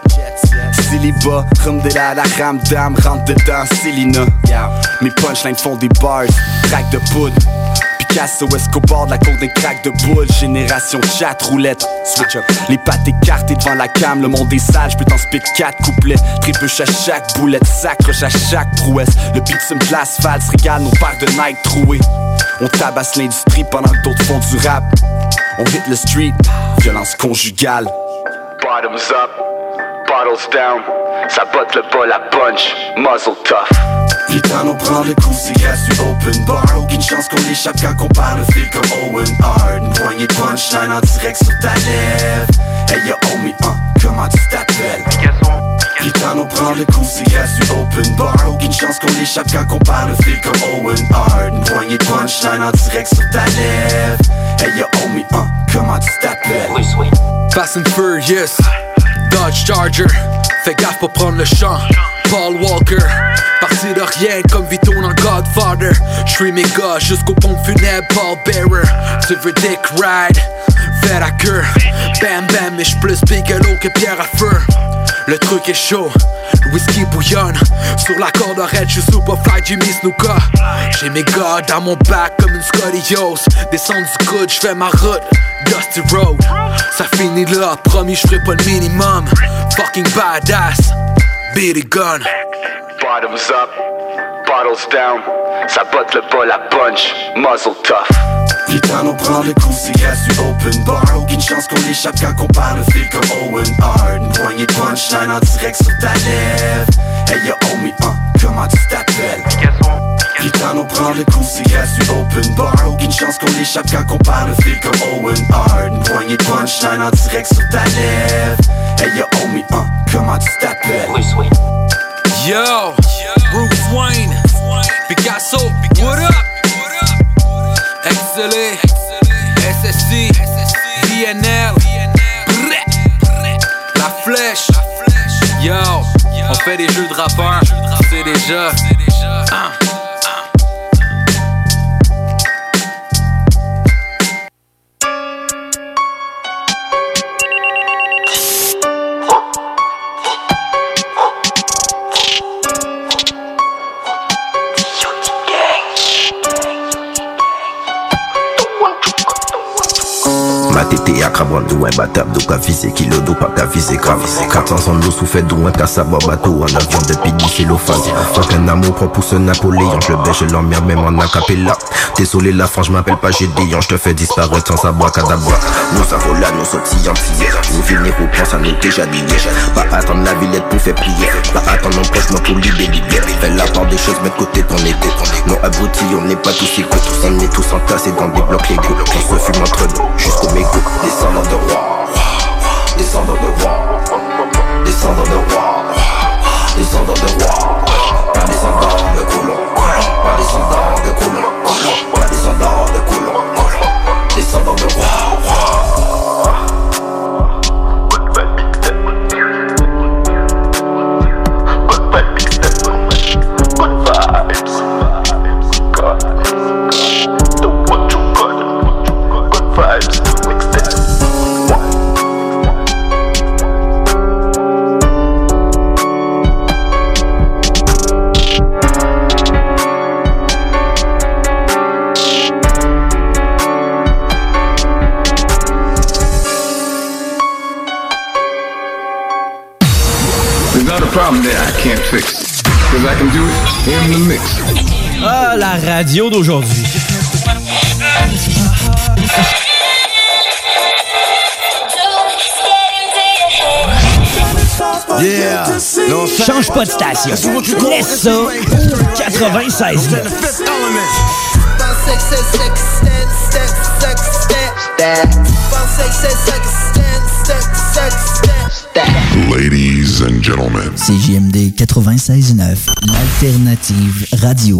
célibat, rhum de la la ramdam, rentre dedans, Célina. Mes punchlines font des bars, track de poudre. Picasso, Escobar, de la côte d'un crack de boule. Génération chat, roulette, switch up. Les pattes écartées devant la cam, le monde est sale, j'peux t'en spit quatre couplets. Trébuche à chaque boulette, s'accroche à chaque prouesse. Le bitume de l'asphalte se régale nos paires de Nike trouées. On tabasse l'industrie pendant que d'autres font du rap. On hit le street, violence conjugale. Bottoms up, bottles down. Ça botte le bol à punch, muzzle tough. Putain, on prend le coup, c'est grâce du open bar. Aucune chance qu'on échappe quand on parle de fil comme Owen Hart. Une poignée de punchline en direct sur ta lèvre. Hey yo, homie, hein, comment tu t'appelles? Putain, on prend le coup, c'est grâce du open bar. Aucune chance qu'on échappe quand on parle de fil comme Owen Hart. Une poignée de punchline en direct sur ta lèvre. Hey yo, homie, hein, comment tu t'appelles? Fast and Furious, Dodge Charger. Fais gaffe pour prendre le champ, Paul Walker. Parti de rien comme Vito dans Godfather. J'suis mes gars jusqu'au pont funèbre, Paul Bearer. Tu veux Dick Ride, fais la queue. Bam bam, mais j'suis plus Bigelow que Pierre à feu. Le truc est chaud, le whisky bouillonne. Sur la corde raide, j'suis Superfly Jimmy Snuka. J'ai mes gars dans mon bac comme une Scotty Yost. Descends du coude, j'fais ma route, Dusty Road. Ça finit là, promis j'ferai pas le minimum. Fucking badass, beat a gun. Bottoms up, bottles down. Ça botte le bol à punch, muzzle tough. Putain, on prend le coup, c'est grâce du open bar. Aucune chance qu'on échappe quand on parle de fil comme Owen Hart. Une poignée de punchline en direct sur ta lèvre. Hey yo, homie, hein, comment tu t'appelles? Prétend nous prendre le coup, c'est grâce du open bar. Aucune chance qu'on échappe quand on parle de fil comme Owen Hart. Une poignée de punchline en direct sur ta lèvre. Hey yo homie, hein, comment tu t'appelles? Bruce Wayne. Yo, Bruce Wayne, Picasso, what up? X L A, S S I, V N L, La Flèche. Yo, on fait des jeux de rappeurs, c'est déjà. Hein. Ma tété à crabon d'où un batable d'où qu'a visé kilo d'où pas qu'a visé grave quatre cents l'eau sous fait d'où un qu'à savoir bateau en avion de pidi cellophane. Faut qu'un amour prend pour ce Napoléon. Je le baisse, je l'emmerde même en acapella. Désolé la France, je m'appelle pas Gédéon. Je te fais disparaître sans savoir cadabra. Nous avons là, nous sautillons hier. Nous venir au point, ça nous déjà dit. Pas attendre la villette pour faire prier. Pas attendre mon proche, moi pour libérer. Fais la part des choses, mettre côté ton égo. Non abrutis, on n'est pas tous égaux. On est tous entassés dans des blocs légaux. On se fume entre nous, jusqu'au mégot. Descendant de roi, descendant de roi, descendant de roi, descendant de roi, pas descendant de colon, pas descendant de colon, pas descendant de colon, descendant de roi. Problem that I can't fix, because I can do it in the mix. Ah, la radio d'aujourd'hui. Yeah. Non, change pas de station. Laisse ça quatre-vingt-seize neuf. Ladies and gentlemen. C J M D quatre-vingt-seize neuf, l'alternative radio.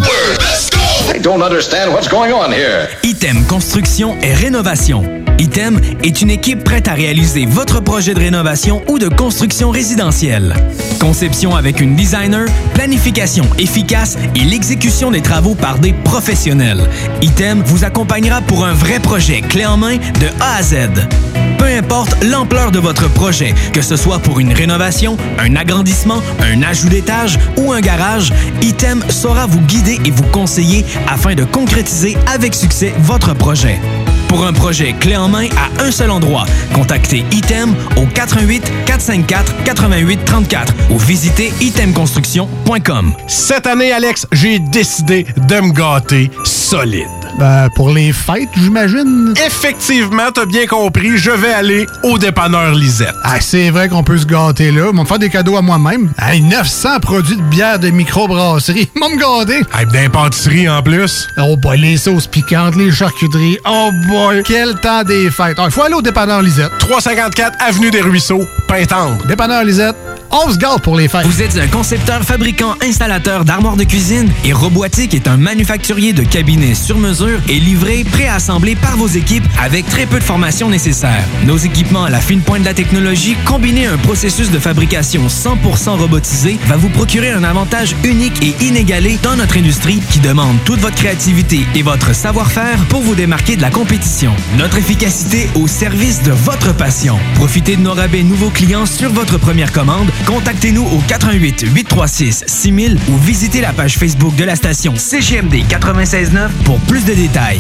I don't understand what's going on here. Item Construction et Rénovation. Item est une équipe prête à réaliser votre projet de rénovation ou de construction résidentielle. Conception avec une designer, planification efficace et l'exécution des travaux par des professionnels. Item vous accompagnera pour un vrai projet clé en main de A à Z. Peu importe l'ampleur de votre projet, que ce soit pour une rénovation, un agrandissement, un ajout d'étage ou un garage, Item saura vous guider et vous conseiller afin de concrétiser avec succès votre projet. Pour un projet clé en main à un seul endroit, contactez Item au quatre un huit, quatre cinq quatre, huit huit trois quatre ou visitez item construction point com. Cette année, Alex, j'ai décidé de me gâter solide. Ben, pour les fêtes, j'imagine. Effectivement, t'as bien compris, je vais aller au dépanneur Lisette. Ah, c'est vrai qu'on peut se gâter là. Ils vont me faire des cadeaux à moi-même. Hey, neuf cents produits de bière de microbrasserie. Ils vont me gâter. Hey, d'impantisserie en plus. Oh boy, les sauces piquantes, les charcuteries. Oh boy, quel temps des fêtes. Il faut aller au dépanneur Lisette. trois cent cinquante-quatre Avenue des Ruisseaux, Pintendre. Dépanneur Lisette. On se gâte pour les fêtes. Vous êtes un concepteur, fabricant, installateur d'armoires de cuisine et Robotique est un manufacturier de cabinets sur mesure et livré, préassemblé par vos équipes avec très peu de formation nécessaire. Nos équipements à la fine pointe de la technologie, combinés à un processus de fabrication cent pour cent robotisé, va vous procurer un avantage unique et inégalé dans notre industrie qui demande toute votre créativité et votre savoir-faire pour vous démarquer de la compétition. Notre efficacité au service de votre passion. Profitez de nos rabais nouveaux clients sur votre première commande. Contactez-nous au quatre un huit, huit trois six, six mille ou visitez la page Facebook de la station C G M D quatre-vingt-seize neuf pour plus de détails.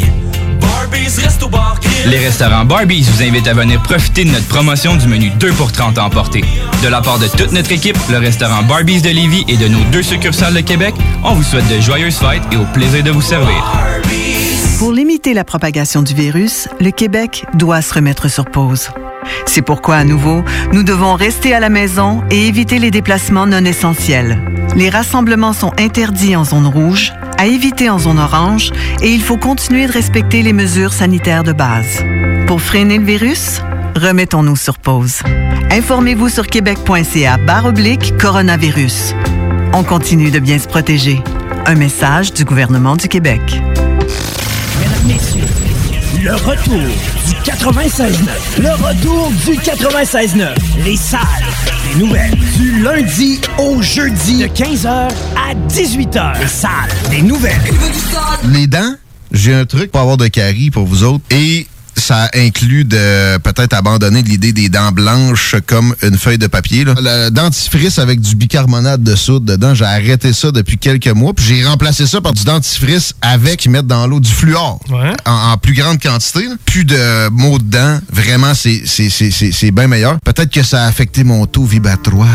Les restaurants Barbies vous invitent à venir profiter de notre promotion du menu deux pour trente à emporter. De la part de toute notre équipe, le restaurant Barbies de Lévis et de nos deux succursales de Québec, on vous souhaite de joyeuses fêtes et au plaisir de vous servir. Pour limiter la propagation du virus, le Québec doit se remettre sur pause. C'est pourquoi, à nouveau, nous devons rester à la maison et éviter les déplacements non essentiels. Les rassemblements sont interdits en zone rouge, à éviter en zone orange, et il faut continuer de respecter les mesures sanitaires de base. Pour freiner le virus, remettons-nous sur pause. Informez-vous sur québec.ca barre oblique coronavirus. On continue de bien se protéger. Un message du gouvernement du Québec. Mesdames, Messieurs, le retour du quatre-vingt-seize neuf. Le retour du quatre-vingt-seize neuf. Les salles des nouvelles. Du lundi au jeudi de quinze heures à dix-huit heures. Les salles des nouvelles. Les dents, j'ai un truc pour avoir de caries pour vous autres. Et ça inclut de peut-être abandonner l'idée des dents blanches comme une feuille de papier. Là. Le dentifrice avec du bicarbonate de soude dedans, j'ai arrêté ça depuis quelques mois. Puis j'ai remplacé ça par du dentifrice avec, ils mettent dans l'eau du fluor. Ouais. En, en plus grande quantité. Là. Plus de maux de dents. Vraiment, c'est, c'est, c'est, c'est, c'est bien meilleur. Peut-être que ça a affecté mon taux vibratoire.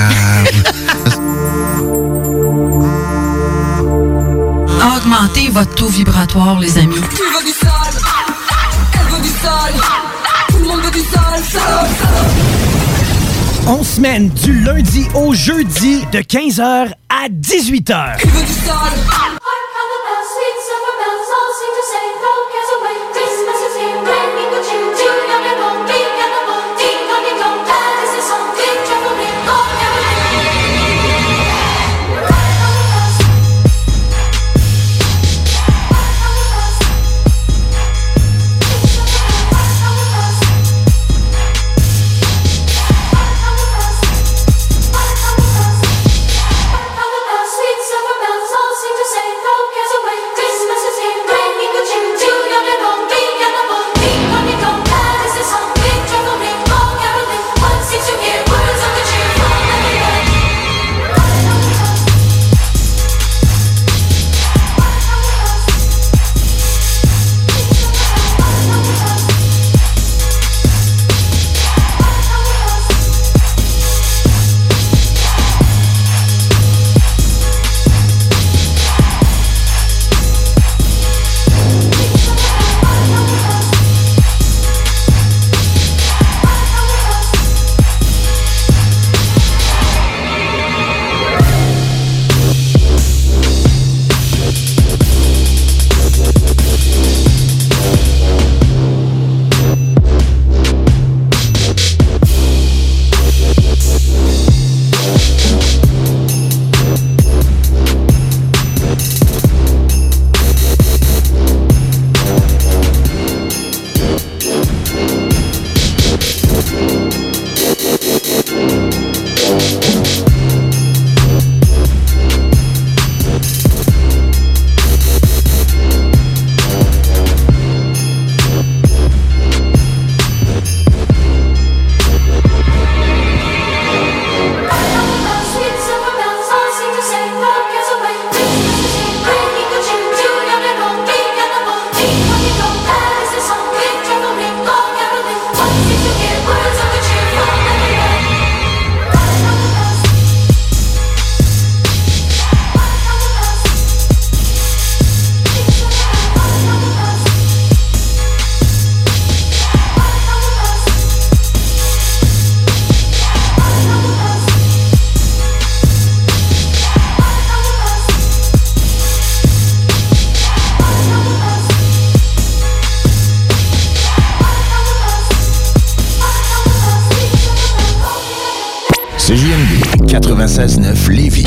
Augmentez votre taux vibratoire, les amis. Tu veux du sale? Elle veut du sale? Tout le monde veut du sale, sale, sale. On semaine du lundi au jeudi de quinze heures à dix-huit heures. Tu veux du sale? C J M D quatre-vingt-seize neuf Lévis.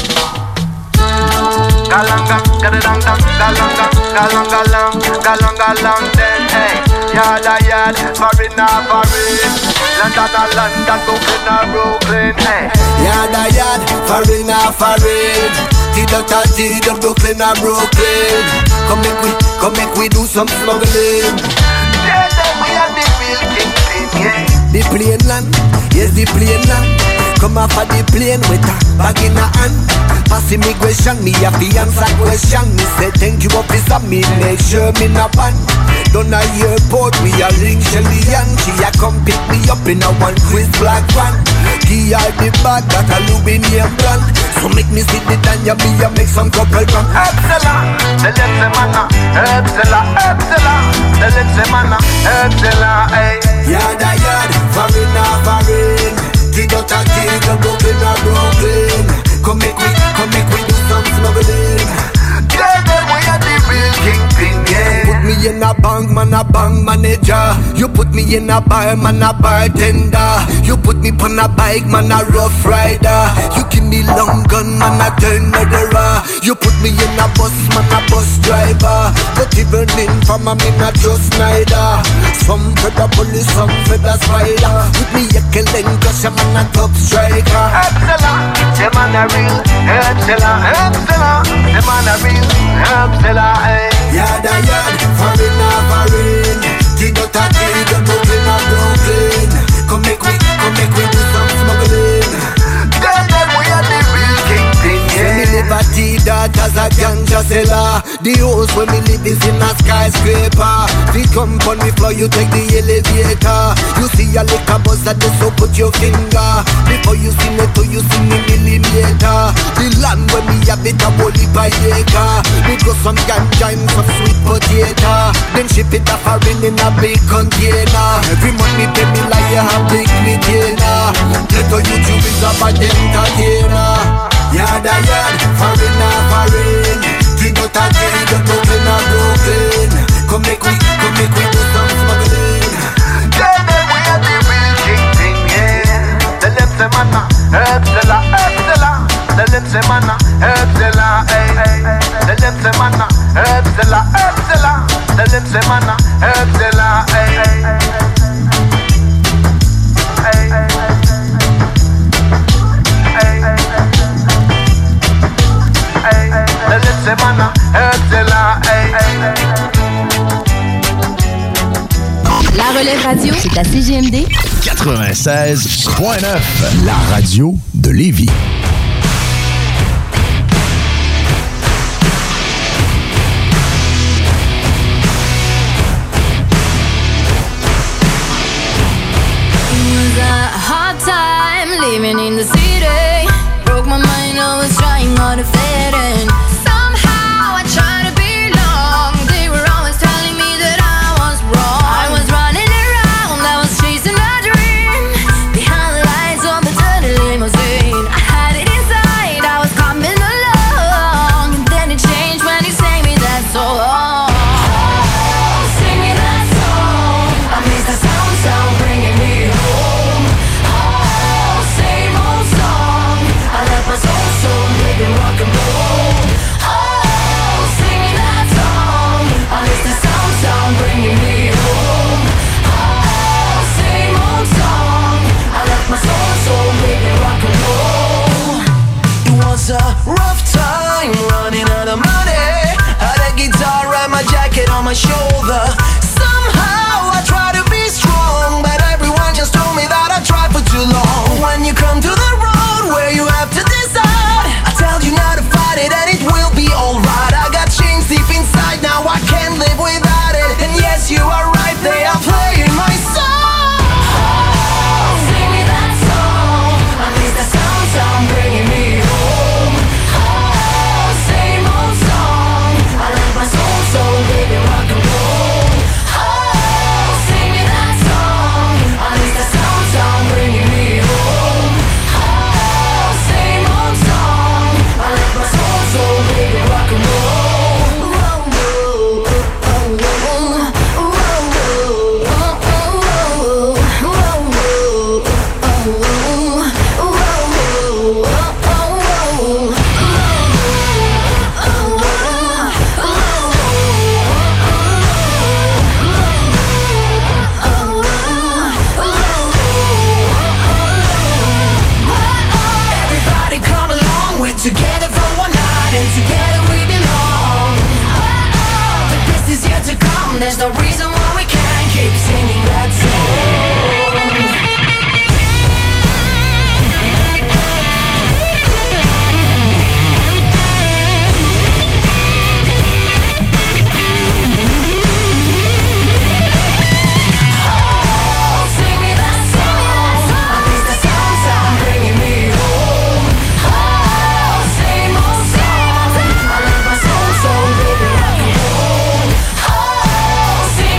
Galanga, gadadanga, galanga, galanga, galang, galanga, galang, then hey, yada yad, Farina, Farin, London, London, Brooklyn, Brooklyn, hey, yada yad, Farina, Farin, T-Dot, T-Dot, Brooklyn, Brooklyn. Come make we, come make we do some smuggling. Yeah, then we are the real kingpin, yeah. The plane land, yes, the plane land. Come off of the plane with a bag in a hand. Pass immigration, me have to answer question. Me say thank you officer, me make sure me not ban. Down a airport, we a ring Shelly and she a come pick me up in a one quiz black van. Give her the bag that a Lubinium brand. So make me sit it and ya me a make some couple gram. Epsilon, the let's mana, Epsilon, Epsilon, the let's mana, Epsilon, hey. Yada yada, for the Brooklyn or Brooklyn. Come make we, come make we do some smuggling. Tell them we are the real kingpin, yeah. Put me in a bank, man, a bank manager. You put me in a bar, man, a bartender. You put me on a bike, man, a rough rider. You give me long gun, man, a turn murderer. You put me in a bus, man, a bus driver. But even in from a me not just neither. Some for the police, some for the spider. With me a killing, cause I'm a top striker. Excellent, the man a real. Excellent, excellent, the man a real. Excellent, eh. Yada yada, foreign or foreign. T-dot a T, the Brooklyn or Brooklyn. Come make we, come make we do some smuggling. Tell them we are the real kingpin, yeah. Me live a T-dot as a ganja seller. The house where me live is in a skyscraper. We come on me floor, you take the elevator. You see a liquor buzz that so put your finger. Before you see me to you see me millimeter. The land where me have it a whole heap of acre. Me grow some ganja and some sweet potato. Then ship it a foreign in a big container. Every month me pay me like you have big retainer. Let all YouTube is a bad entertainer. Yada yada, foreign or foreign. T-dot a T, the Brooklyn or Brooklyn. Come make we, come make we do some smuggling. Tell them we are the real kingpin, yeah. Tell them say manna, excellent, excellent. Tell them say manna, excellent, eh, eh. Tell them say manna, excellent, excellent. Tell them say manna, excellent, eh, eh. La Relève Radio, c'est à C G M D quatre-vingt-seize point neuf, la radio de Lévis. Living in the city, broke my mind, I was trying hard to fit in. Somehow I tried to belong. They were always telling me that I was wrong. I was running around, I was chasing a dream. Behind the lights of the dirty limousine, I had it inside, I was coming along. And then it changed when you sang me that song. Oh, sing me that song. I miss that sound, sound bringing me home. My soul, soul, living rock and roll. Oh, sing me that song. I miss the sound, sound bringing me home. Oh, same old song. I left my soul, soul, living rock and roll. It was a rough time, running out of money. Had a guitar and my jacket on my shoulder. Somehow I tried to be strong, but everyone just told me that I tried for too long. When you come to the road where you have to you not to fight it and it will be alright. I got chains deep inside, now I can't live without it. And yes, you are right, they are playing my song. Oh, sing me that song. I miss the sound, sound bringing me home. Oh, same old song. I left my soul, soul, living rock and roll. Oh, sing me that song. I miss the sound, sound bringing me home. Oh, same old song. I left my soul, soul, baby, rock and roll. Everybody come along, we're together for one night and together we belong. Oh, oh, the best is yet to come. There's no reason why we can't keep singing that song. See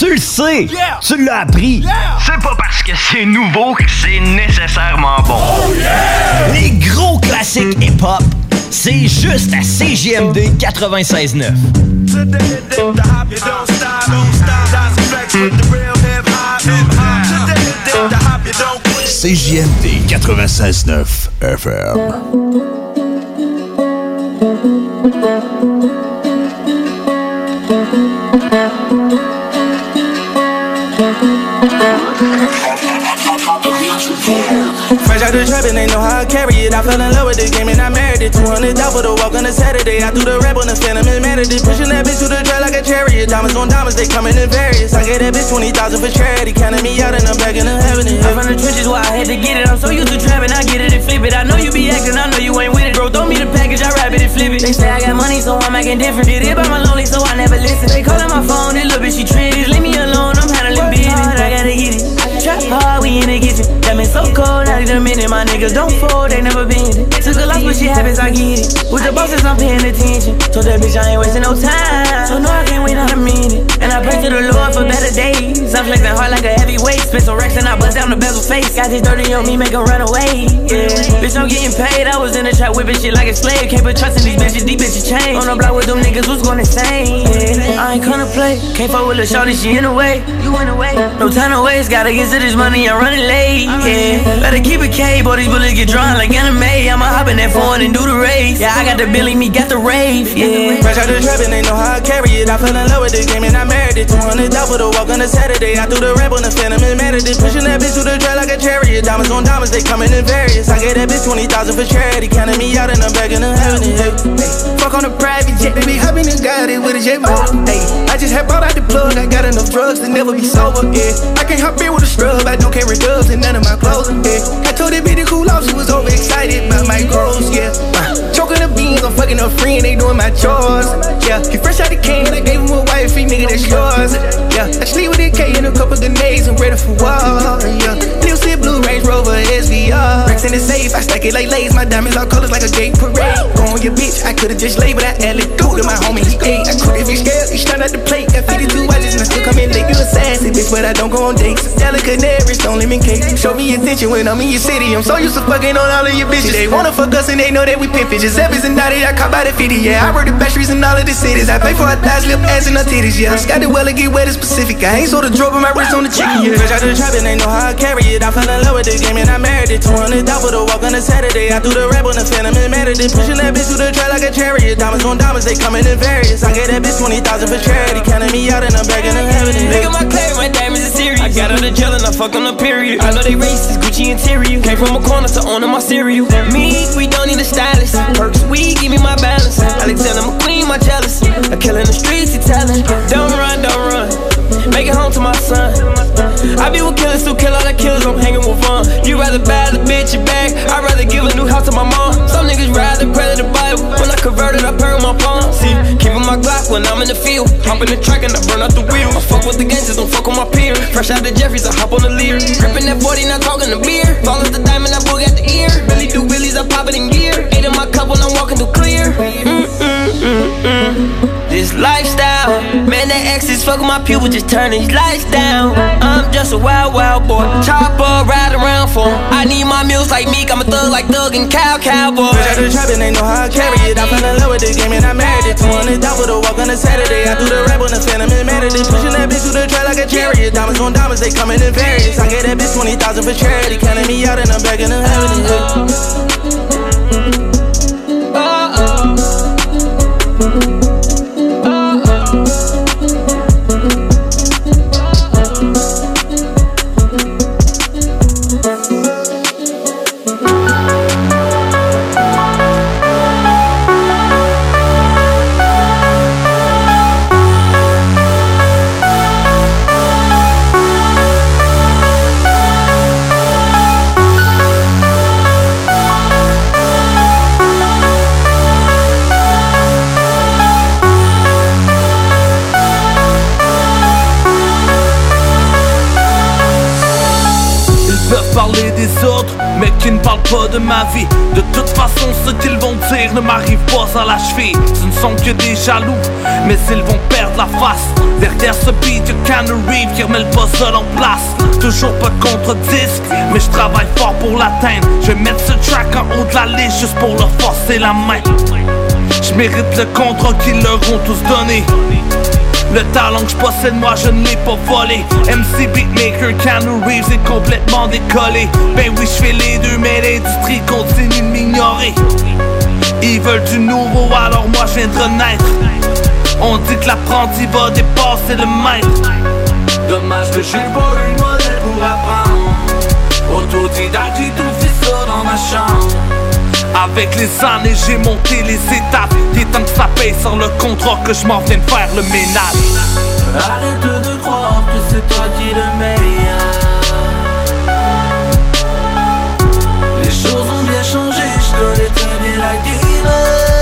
Tu le sais! Yeah! Tu l'as appris! Yeah! C'est pas parce que c'est nouveau que c'est nécessairement bon. Oh yeah! Les gros classiques hip-hop, c'est juste à C J M D quatre-vingt-seize neuf. C J M D quatre-vingt-seize neuf F M. Fresh out the trap and they know how I carry it. I fell in love with the game and I married it. two hundred dollars for the walk on a Saturday. I threw the rap on the phantom and mad at it. Pushing that bitch to the track like a chariot. Diamonds on diamonds, they coming in various. I gave that bitch twenty thousand for charity. Counting me out and I'm back in the heaven. I'm from the trenches where I had to get it. I'm so used to trapping, I get it and flip it. I know you be acting, I know you ain't with it. Bro, throw me the package, I wrap it and flip it. They say I got money, so I'm acting different. Did it by my lonely, so I never listen. They calling my phone, this little bitch, she triggered. Leave me alone, I'm handling business. I gotta get it. Trap hard, we in the kitchen. That been so cold, not even a minute. My niggas don't fold, they never been it. Took a loss, but shit happens, I get it. With the bosses, I'm paying attention. Told that bitch I ain't wasting no time. So no, I can't wait out a minute. And I pray to the Lord for better days. I'm flexing hard like a heavyweight. Spent some racks and I bust down the bezel face. Got this dirty on me, make them run away. Yeah, bitch, I'm getting paid. I was in the trap whipping shit like a slave. Can't put trust in these bitches, these bitches change. On the block with them niggas, who's gonna insane? Yeah, I ain't gonna play. Can't fuck with a shorty, she in the way. You in the way. No time to waste, gotta get to this money, I'm running late. Yeah, better keep it K, boy, these bullets get drawn like anime. I'ma hop in that phone and do the race. Yeah, I got the Billy, me got the rave. Yeah, fresh out the trap and they know how I carry it. I fell in love with the game and I married it. two hundred dollars for the walk on a Saturday. I threw the rap on the phantom and mad at it. Pushing that bitch to the track like a chariot. Diamonds on diamonds, they coming in various. I gave that bitch twenty thousand for charity. Counting me out and I'm back in the heaven. Hey, fuck on a private jet, they be hopping and got it with a jet motor. Hey, I just had bought out the plug. I got enough drugs to never be sober. Yeah, I can't hop in with a scrub. I don't carry dubs and none of my clothes. Yeah, I told that bitch to cool off. She was overexcited about my goals. Yeah, uh, choking the beans, I'm fucking her friend. They doing my chores. Yeah, he fresh out the can. I gave him a wife, free nigga, that's yours. Yeah, I sleep with a K and a couple grenades and ready for war. Yeah, New City Blue Range Rover S V R. Racks in the safe, I stack it like lace. My diamonds all colors like a gay parade. Go on your bitch, I could've just laid, but I added through to my homie, he ate. I could if he scared, he turned out the plate. Got fifty-two watches and I still come in late. You a sassy bitch, but I don't go on dates. Delicate Canaries, don't lemon cake. Show me attention when I'm in your city. I'm so used to fucking on all of your bitches. They wanna fuck us and they know that we pimp it. Giuseppe's and Naughty, I caught by the fifty, yeah. I rode the best streets in all of the cities. I pay for her thighs, lip, ass, and her titties, yeah. Got the well to get wet is specific. I ain't sold a drop on my wrist on the chicken, yeah. Fresh out the trap and they know how I carry it. I fell in love with the game and I married it. two hundred dollars for the walk on a Saturday. I threw the rap on the phantom and mad at it. Pushing that bitch to the track like a chariot. Diamonds on diamonds, they coming in various. I gave that bitch twenty thousand for charity. Counting me out and I'm back in the heaven. Look at my claim, my diamonds are serious. I got on the gel and I fucked on the period. I know they racist, Gucci interior. Came from a corner to owning my cereal. Me, we don't need a stylist. Perks, we give me my balance. Alexander McQueen, my jealous. A killer in the streets, he telling. Don't run, don't run. Make it home to my son. I be with killers who kill all the killers, I'm hanging with fun. You rather buy the bitch your bag, I'd rather give a new house to my mom. Some niggas rather pray to the Bible. When I converted, I pray with my palm. See, keeping my Glock when I'm in the field. Hop in the track and I burn out the wheel. I fuck with the gangsters, don't fuck with my peers. Fresh out the Jeffries, I hop on the Lear. Gripping that forty, not talking the beer. Fall off the diamond, I boog at the ear. Really do willies, I pop it in gear. Eight in my cup when I'm walking through clear. Mm-mm-mm-mm. This lifestyle, man, that exes fuck with my people, just turn these lights down. I'm just a wild, wild boy. Chopper, ride around for him. I need my meals like Meek, I'm a thug like Thug and Cow Cowboy. Fresh out the trap and they know how I carry it. I fell in love with the game and I married it. two hundred dollars for the walk on a Saturday. I threw the rap on the phantom and mad at it. Pushing that bitch to the track like a chariot. Diamonds on diamonds, they coming in various. I gave that bitch twenty thousand for charity. Counting me out and I'm back in the heaven. mais qui ne parlent pas de ma vie. De toute façon, ce qu'ils vont dire ne m'arrive pas à la cheville. Ce ne sont que des jaloux, mais ils vont perdre la face. Derrière ce beat, y'a Keanu Reeves qui remet le puzzle en place. Toujours pas de contre-disque, mais je travaille fort pour l'atteindre. Je vais mettre ce track en haut de la liste juste pour leur forcer la main. Je mérite le contrat qu'ils leur ont tous donné. Le talent que je possède, moi je ne l'ai pas volé. M C Beatmaker, Keanu Reeves est complètement décollé. Ben oui, je fais les deux, mais l'industrie continue de m'ignorer. Ils veulent du nouveau, alors moi je viens de renaître. On dit que l'apprenti va dépasser le maître. Dommage que j'ai pas eu le modèle pour apprendre. Autodidacte, j'ai tout fait ça dans ma chambre. Avec les années, j'ai monté les étapes. Il est temps que ça paye sur le contrat que je m'en viens de faire le ménage. Arrête de croire que c'est toi qui es le meilleur. Les choses ont bien changé, je connais très bien la game.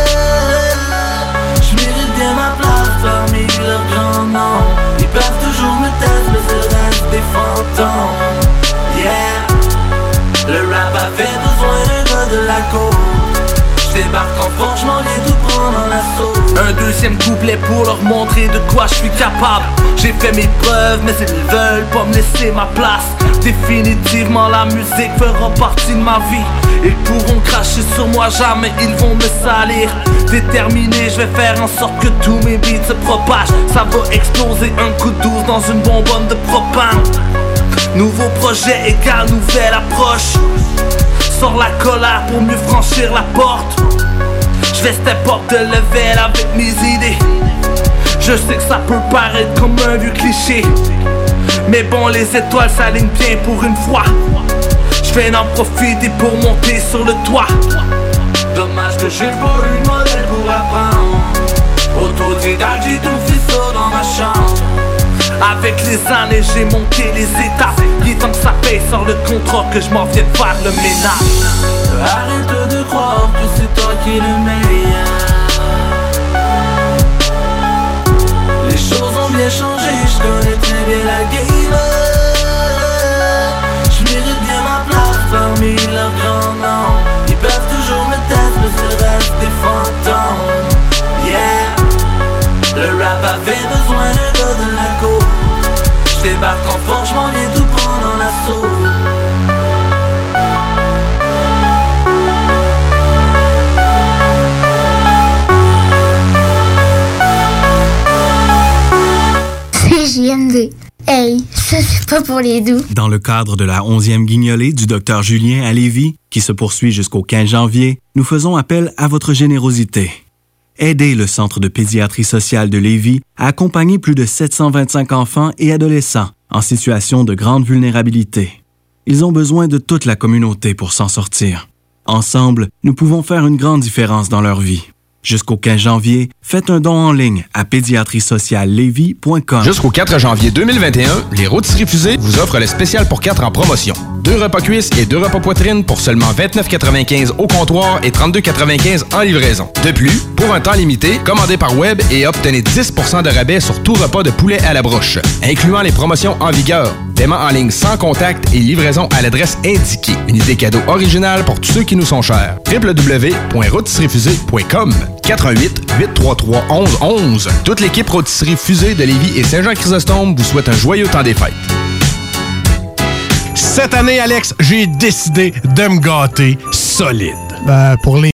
Je mérite bien ma place parmi leurs grands noms. Ils peuvent toujours me tester, mais c'est le reste des fantômes. Yeah, le rap avait besoin d'un gars de la côte. J'débarque en force, j'm'en viens tout prendre en assaut. Un deuxième couplet pour leur montrer de quoi je suis capable. J'ai fait mes preuves, mais ils veulent pas me laisser ma place. Définitivement la musique fera partie de ma vie. Ils pourront cracher sur moi, jamais ils vont me salir. Déterminé, je vais faire en sorte que tous mes beats se propagent. Ça va exploser un coup de douze dans une bonbonne de propane. Nouveau projet égale nouvelle approche. Sors la colère pour mieux franchir la porte. Je vais step up de level avec mes idées. Je sais que ça peut paraître comme un vieux cliché, mais bon, les étoiles s'alignent bien pour une fois. Je vais en profiter pour monter sur le toit. Dommage que j'ai pas eu de modèle pour apprendre. Autodidacte, j'ai tout fait ça dans ma chambre. Avec les années, j'ai monté les étapes. Il est temps que ça paye sur le contrat que je m'en viens de faire le ménage. Arrête de croire que c'est toi qui es le meilleur. Les choses ont bien changé, je connais très bien la game. Je mérite bien ma place parmi leurs grands noms. Ils peuvent toujours me tester, mais c'est le reste des fantômes. Yeah, le rap avait besoin d'un gars de la côte. J'débarque en force, j'm'en viens tout prendre en assaut. C J M D. Hey, ça c'est pas pour les doux. Dans le cadre de la onzième guignolée du docteur Julien à Lévis, qui se poursuit jusqu'au quinze janvier, nous faisons appel à votre générosité. Aidez le Centre de pédiatrie sociale de Lévis à accompagner plus de sept cent vingt-cinq enfants et adolescents en situation de grande vulnérabilité. Ils ont besoin de toute la communauté pour s'en sortir. Ensemble, nous pouvons faire une grande différence dans leur vie. Jusqu'au quinze janvier, faites un don en ligne à pédiatrie sociale lévis point com. Jusqu'au quatre janvier deux mille vingt et un, les Rôtisseries Fusées vous offrent le spécial pour quatre en promotion. Deux repas cuisses et deux repas poitrine pour seulement vingt-neuf quatre-vingt-quinze au comptoir et trente-deux quatre-vingt-quinze en livraison. De plus, pour un temps limité, commandez par web et obtenez dix pour cent de rabais sur tout repas de poulet à la broche, incluant les promotions en vigueur. Paiement en ligne sans contact et livraison à l'adresse indiquée. Une idée cadeau originale pour tous ceux qui nous sont chers. w w w point rôtisserie fusée point com quatre un huit, huit trois trois, onze onze. Toute l'équipe Rôtisserie Fusée de Lévis et Saint-Jean-Chrysostome vous souhaite un joyeux temps des fêtes. Cette année, Alex, j'ai décidé de me gâter solide. Ben, pour les